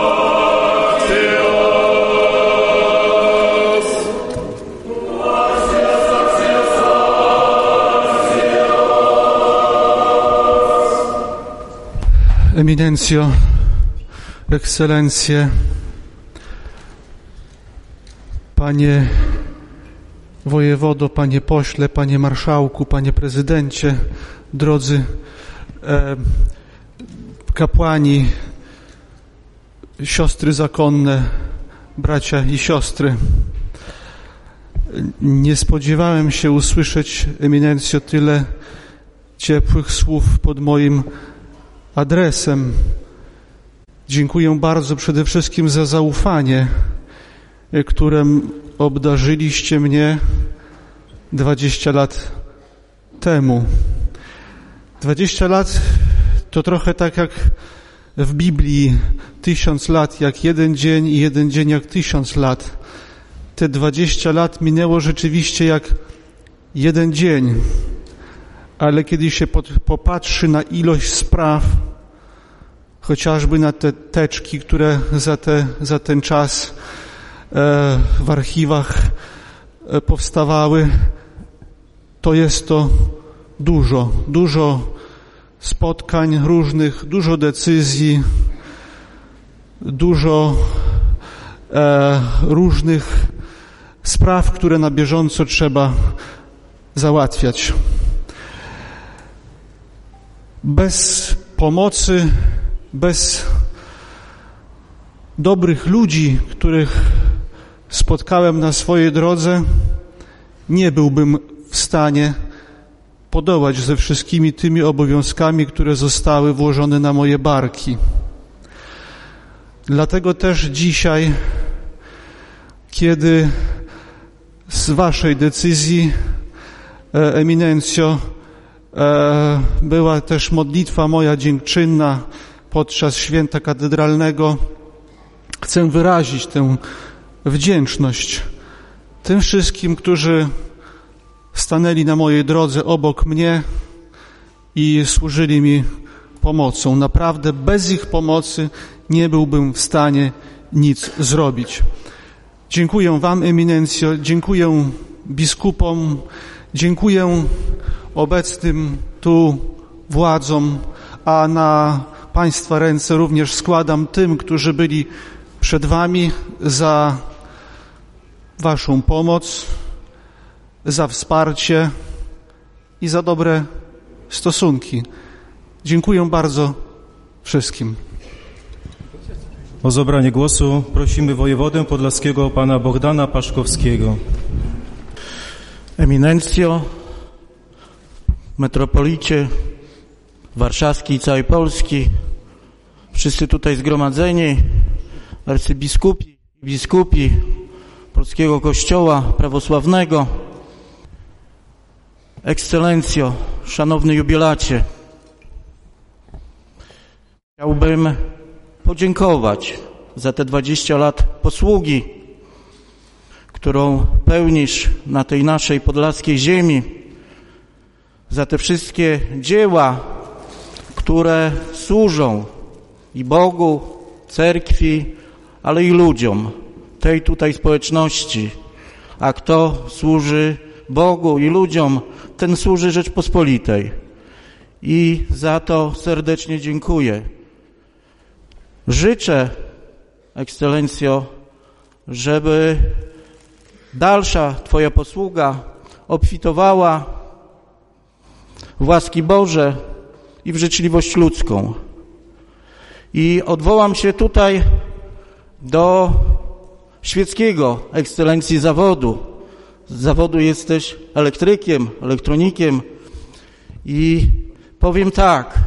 Eminencjo, Ekscelencje, Panie wojewodo, Panie pośle, Panie marszałku, Panie prezydencie, drodzy kapłani, siostry zakonne, bracia i siostry. Nie spodziewałem się usłyszeć, Eminencjo, tyle ciepłych słów pod moim adresem. Dziękuję bardzo przede wszystkim za zaufanie, którym obdarzyliście mnie 20 lat temu. 20 lat to trochę tak jak w Biblii, 1000 lat jak jeden dzień i jeden dzień jak 1000 lat. Te 20 lat minęło rzeczywiście jak jeden dzień, ale kiedy się popatrzy na ilość spraw, chociażby na te teczki, które za ten czas w archiwach powstawały, to jest to dużo spotkań różnych, dużo decyzji, dużo różnych spraw, które na bieżąco trzeba załatwiać. Bez pomocy, bez dobrych ludzi, których spotkałem na swojej drodze, nie byłbym w stanie podołać ze wszystkimi tymi obowiązkami, które zostały włożone na moje barki. Dlatego też dzisiaj, kiedy z waszej decyzji, Eminencjo, była też modlitwa moja dziękczynna podczas święta katedralnego, chcę wyrazić tę wdzięczność tym wszystkim, którzy stanęli na mojej drodze obok mnie i służyli mi pomocą. Naprawdę bez ich pomocy nie byłbym w stanie nic zrobić. Dziękuję wam, Eminencjo, dziękuję biskupom, dziękuję obecnym tu władzom, a na państwa ręce również składam tym, którzy byli przed wami, za waszą pomoc, za wsparcie i za dobre stosunki. Dziękuję bardzo wszystkim. O zabranie głosu prosimy wojewodę podlaskiego pana Bogdana Paszkowskiego. Eminencjo, metropolicie warszawski i całej Polski, wszyscy tutaj zgromadzeni, arcybiskupi, biskupi Polskiego Kościoła Prawosławnego, Ekscelencjo, szanowny jubilacie, chciałbym podziękować za te 20 lat posługi, którą pełnisz na tej naszej podlaskiej ziemi, za te wszystkie dzieła, które służą i Bogu, cerkwi, ale i ludziom, tej tutaj społeczności. A kto służy Bogu i ludziom, ten służy Rzeczpospolitej. I za to serdecznie dziękuję. Życzę, Ekscelencjo, żeby dalsza Twoja posługa obfitowała w łaski Boże i w życzliwość ludzką. I odwołam się tutaj do świeckiego, Ekscelencji, zawodu. Z zawodu jesteś elektrykiem, elektronikiem i powiem tak.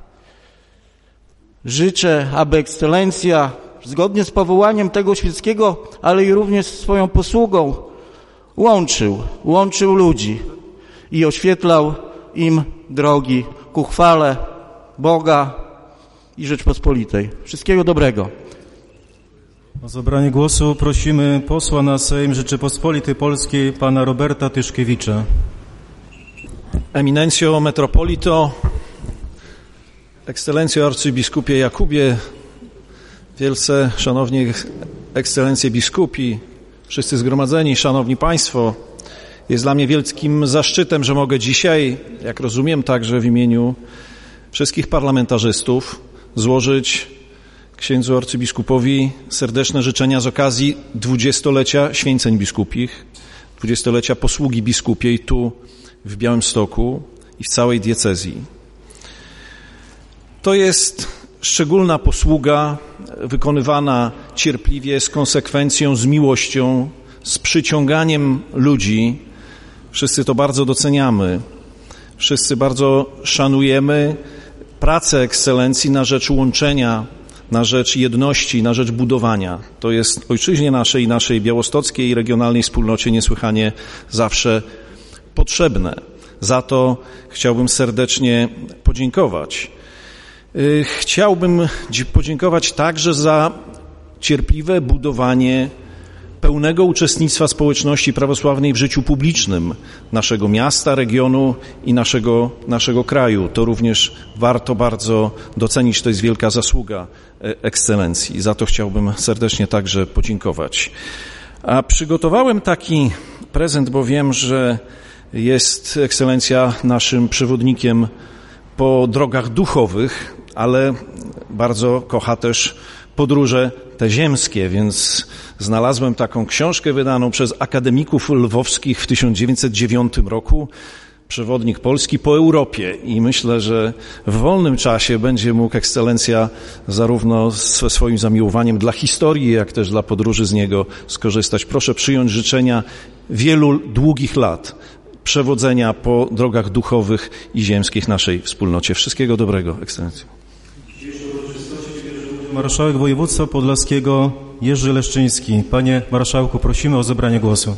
Życzę, aby Ekscelencja zgodnie z powołaniem tego świeckiego, ale i również swoją posługą łączył ludzi i oświetlał im drogi ku chwale Boga i Rzeczpospolitej. Wszystkiego dobrego. O zabranie głosu prosimy posła na Sejm Rzeczypospolitej Polskiej pana Roberta Tyszkiewicza. Eminencjo, metropolito, Ekscelencjo arcybiskupie Jakubie, wielce szanowni ekscelencje biskupi, wszyscy zgromadzeni, szanowni państwo, jest dla mnie wielkim zaszczytem, że mogę dzisiaj, jak rozumiem, także w imieniu wszystkich parlamentarzystów złożyć księdzu arcybiskupowi serdeczne życzenia z okazji 20-lecia święceń biskupich, 20-lecia posługi biskupiej tu w Białymstoku i w całej diecezji. To jest szczególna posługa wykonywana cierpliwie, z konsekwencją, z miłością, z przyciąganiem ludzi. Wszyscy to bardzo doceniamy. Wszyscy bardzo szanujemy pracę ekscelencji na rzecz łączenia, na rzecz jedności, na rzecz budowania. To jest ojczyźnie naszej i naszej białostockiej i regionalnej wspólnocie niesłychanie zawsze potrzebne. Za to chciałbym serdecznie podziękować. Chciałbym podziękować także za cierpliwe budowanie pełnego uczestnictwa społeczności prawosławnej w życiu publicznym naszego miasta, regionu i naszego kraju. To również warto bardzo docenić, to jest wielka zasługa ekscelencji. Za to chciałbym serdecznie także podziękować. A przygotowałem taki prezent, bo wiem, że jest ekscelencja naszym przewodnikiem po drogach duchowych, ale bardzo kocha też podróże te ziemskie, więc znalazłem taką książkę wydaną przez akademików lwowskich w 1909 roku, przewodnik polski po Europie, i myślę, że w wolnym czasie będzie mógł ekscelencja zarówno ze swoim zamiłowaniem dla historii, jak też dla podróży z niego skorzystać. Proszę przyjąć życzenia wielu długich lat przewodzenia po drogach duchowych i ziemskich naszej wspólnocie. Wszystkiego dobrego, ekscelencjo. Marszałek województwa podlaskiego Jerzy Leszczyński. Panie marszałku, prosimy o zabranie głosu.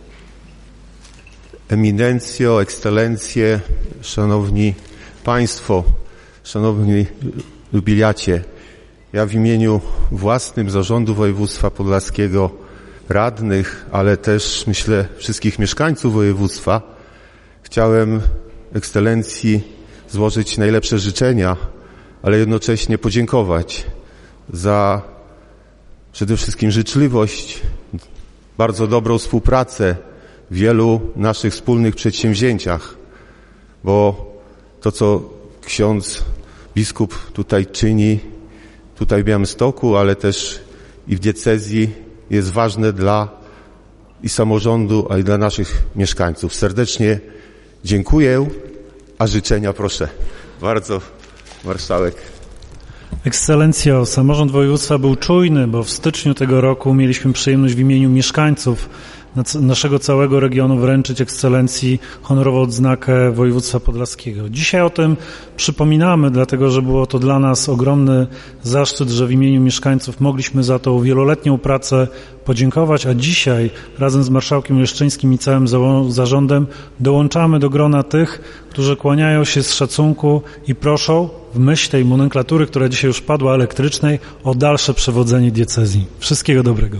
Eminencjo, ekscelencje, szanowni państwo, szanowni jubilacie. Ja w imieniu własnym Zarządu Województwa Podlaskiego, radnych, ale też myślę wszystkich mieszkańców województwa chciałem ekscelencji złożyć najlepsze życzenia, ale jednocześnie podziękować za przede wszystkim życzliwość, bardzo dobrą współpracę w wielu naszych wspólnych przedsięwzięciach, bo to, co ksiądz biskup tutaj czyni, tutaj w Białymstoku, ale też i w diecezji, jest ważne dla i samorządu, a i dla naszych mieszkańców. Serdecznie dziękuję, a życzenia proszę bardzo, marszałek. Ekscelencjo, samorząd województwa był czujny, bo w styczniu tego roku mieliśmy przyjemność w imieniu mieszkańców naszego całego regionu wręczyć ekscelencji honorową odznakę województwa podlaskiego. Dzisiaj o tym przypominamy, dlatego że było to dla nas ogromny zaszczyt, że w imieniu mieszkańców mogliśmy za tą wieloletnią pracę podziękować, a dzisiaj razem z marszałkiem Leszczyńskim i całym zarządem dołączamy do grona tych, którzy kłaniają się z szacunku i proszą w myśl tej nomenklatury, która dzisiaj już padła, elektrycznej, o dalsze przewodzenie diecezji. Wszystkiego dobrego.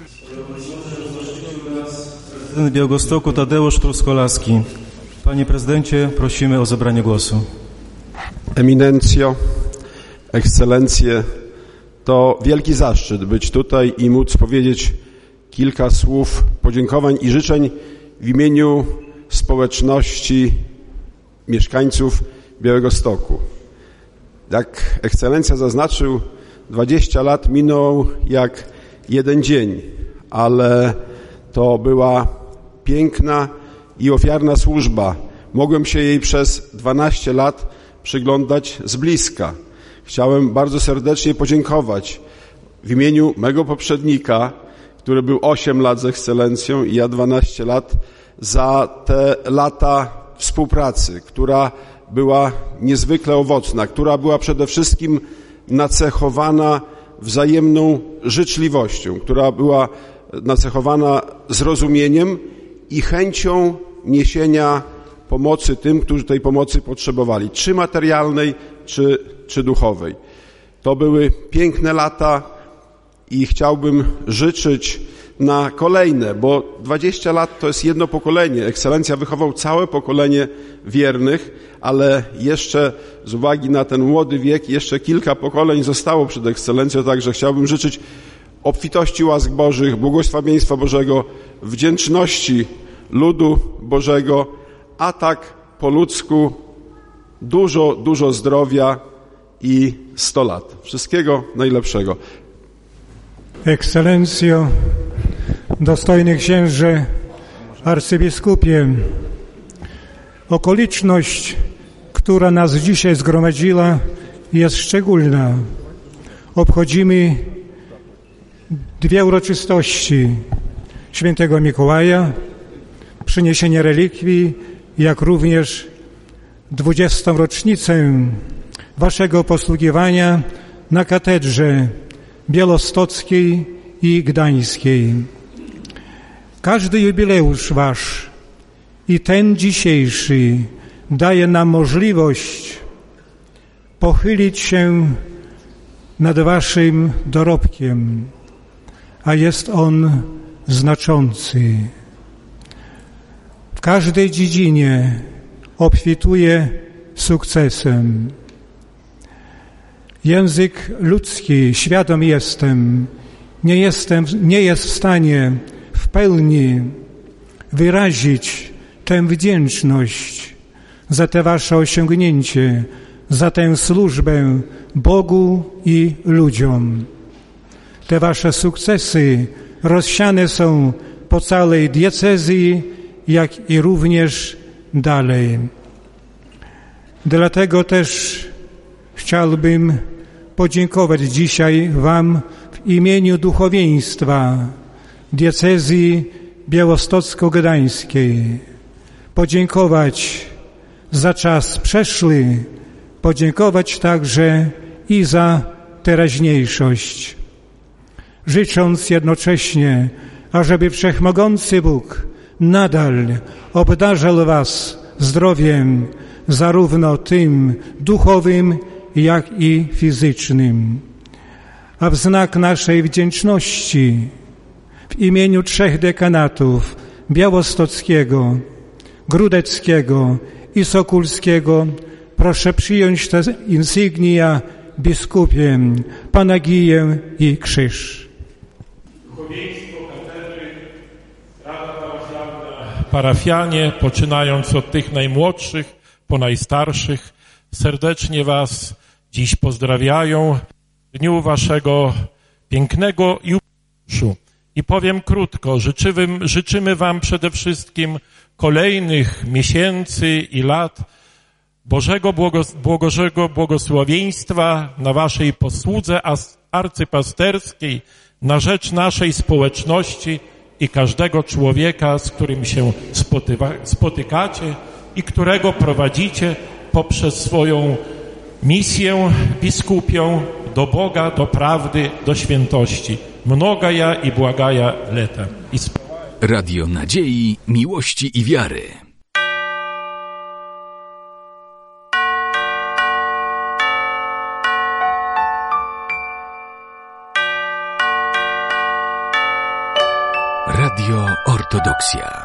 Prezydent Białegostoku Tadeusz Truskolaski. Panie prezydencie, prosimy o zabranie głosu. Eminencjo, ekscelencje, to wielki zaszczyt być tutaj i móc powiedzieć kilka słów podziękowań i życzeń w imieniu społeczności mieszkańców Białegostoku. Jak ekscelencja zaznaczył, 20 lat minął jak jeden dzień, ale to była piękna i ofiarna służba. Mogłem się jej przez 12 lat przyglądać z bliska. Chciałem bardzo serdecznie podziękować w imieniu mego poprzednika, który był 8 lat z ekscelencją i ja 12 lat, za te lata współpracy, która była niezwykle owocna, która była przede wszystkim nacechowana wzajemną życzliwością, która była nacechowana zrozumieniem i chęcią niesienia pomocy tym, którzy tej pomocy potrzebowali, czy materialnej, czy duchowej. To były piękne lata i chciałbym życzyć na kolejne, bo 20 lat to jest jedno pokolenie. Ekscelencja wychował całe pokolenie wiernych, ale jeszcze z uwagi na ten młody wiek jeszcze kilka pokoleń zostało przed ekscelencją, także chciałbym życzyć obfitości łask Bożych, błogosławieństwa Bożego, wdzięczności ludu Bożego, a tak po ludzku dużo zdrowia i 100 lat. Wszystkiego najlepszego. Ekscelencjo, dostojny księże, arcybiskupie, okoliczność, która nas dzisiaj zgromadziła, jest szczególna. Obchodzimy dwie uroczystości świętego Mikołaja, przyniesienie relikwii, jak również 20. rocznicę waszego posługiwania na katedrze białostockiej i gdańskiej. Każdy jubileusz wasz i ten dzisiejszy daje nam możliwość pochylić się nad waszym dorobkiem, a jest on znaczący. W każdej dziedzinie obfituje sukcesem. Język ludzki, świadom jestem, nie jest w stanie w pełni wyrazić tę wdzięczność za te wasze osiągnięcie, za tę służbę Bogu i ludziom. Te wasze sukcesy rozsiane są po całej diecezji, jak i również dalej. Dlatego też chciałbym podziękować dzisiaj wam w imieniu duchowieństwa diecezji białostocko-gdańskiej. Podziękować za czas przeszły, podziękować także i za teraźniejszość. Życząc jednocześnie, ażeby Wszechmogący Bóg nadal obdarzał was zdrowiem, zarówno tym duchowym, jak i fizycznym. A w znak naszej wdzięczności w imieniu 3 dekanatów białostockiego, grudeckiego i sokulskiego proszę przyjąć te insygnia biskupie, panagiję i krzyż. Duchowieństwo katedry, Rada Parafialna, parafianie, poczynając od tych najmłodszych po najstarszych, serdecznie was dziś pozdrawiają w dniu waszego pięknego jubileuszu. I powiem krótko, życzymy wam przede wszystkim kolejnych miesięcy i lat Bożego błogosławieństwa na waszej posłudze arcypasterskiej na rzecz naszej społeczności i każdego człowieka, z którym się spotykacie i którego prowadzicie poprzez swoją misję biskupią do Boga, do prawdy, do świętości. Mnogaja i błagaja leta. Radio Nadziei, Miłości i Wiary. Radio Ortodoksja.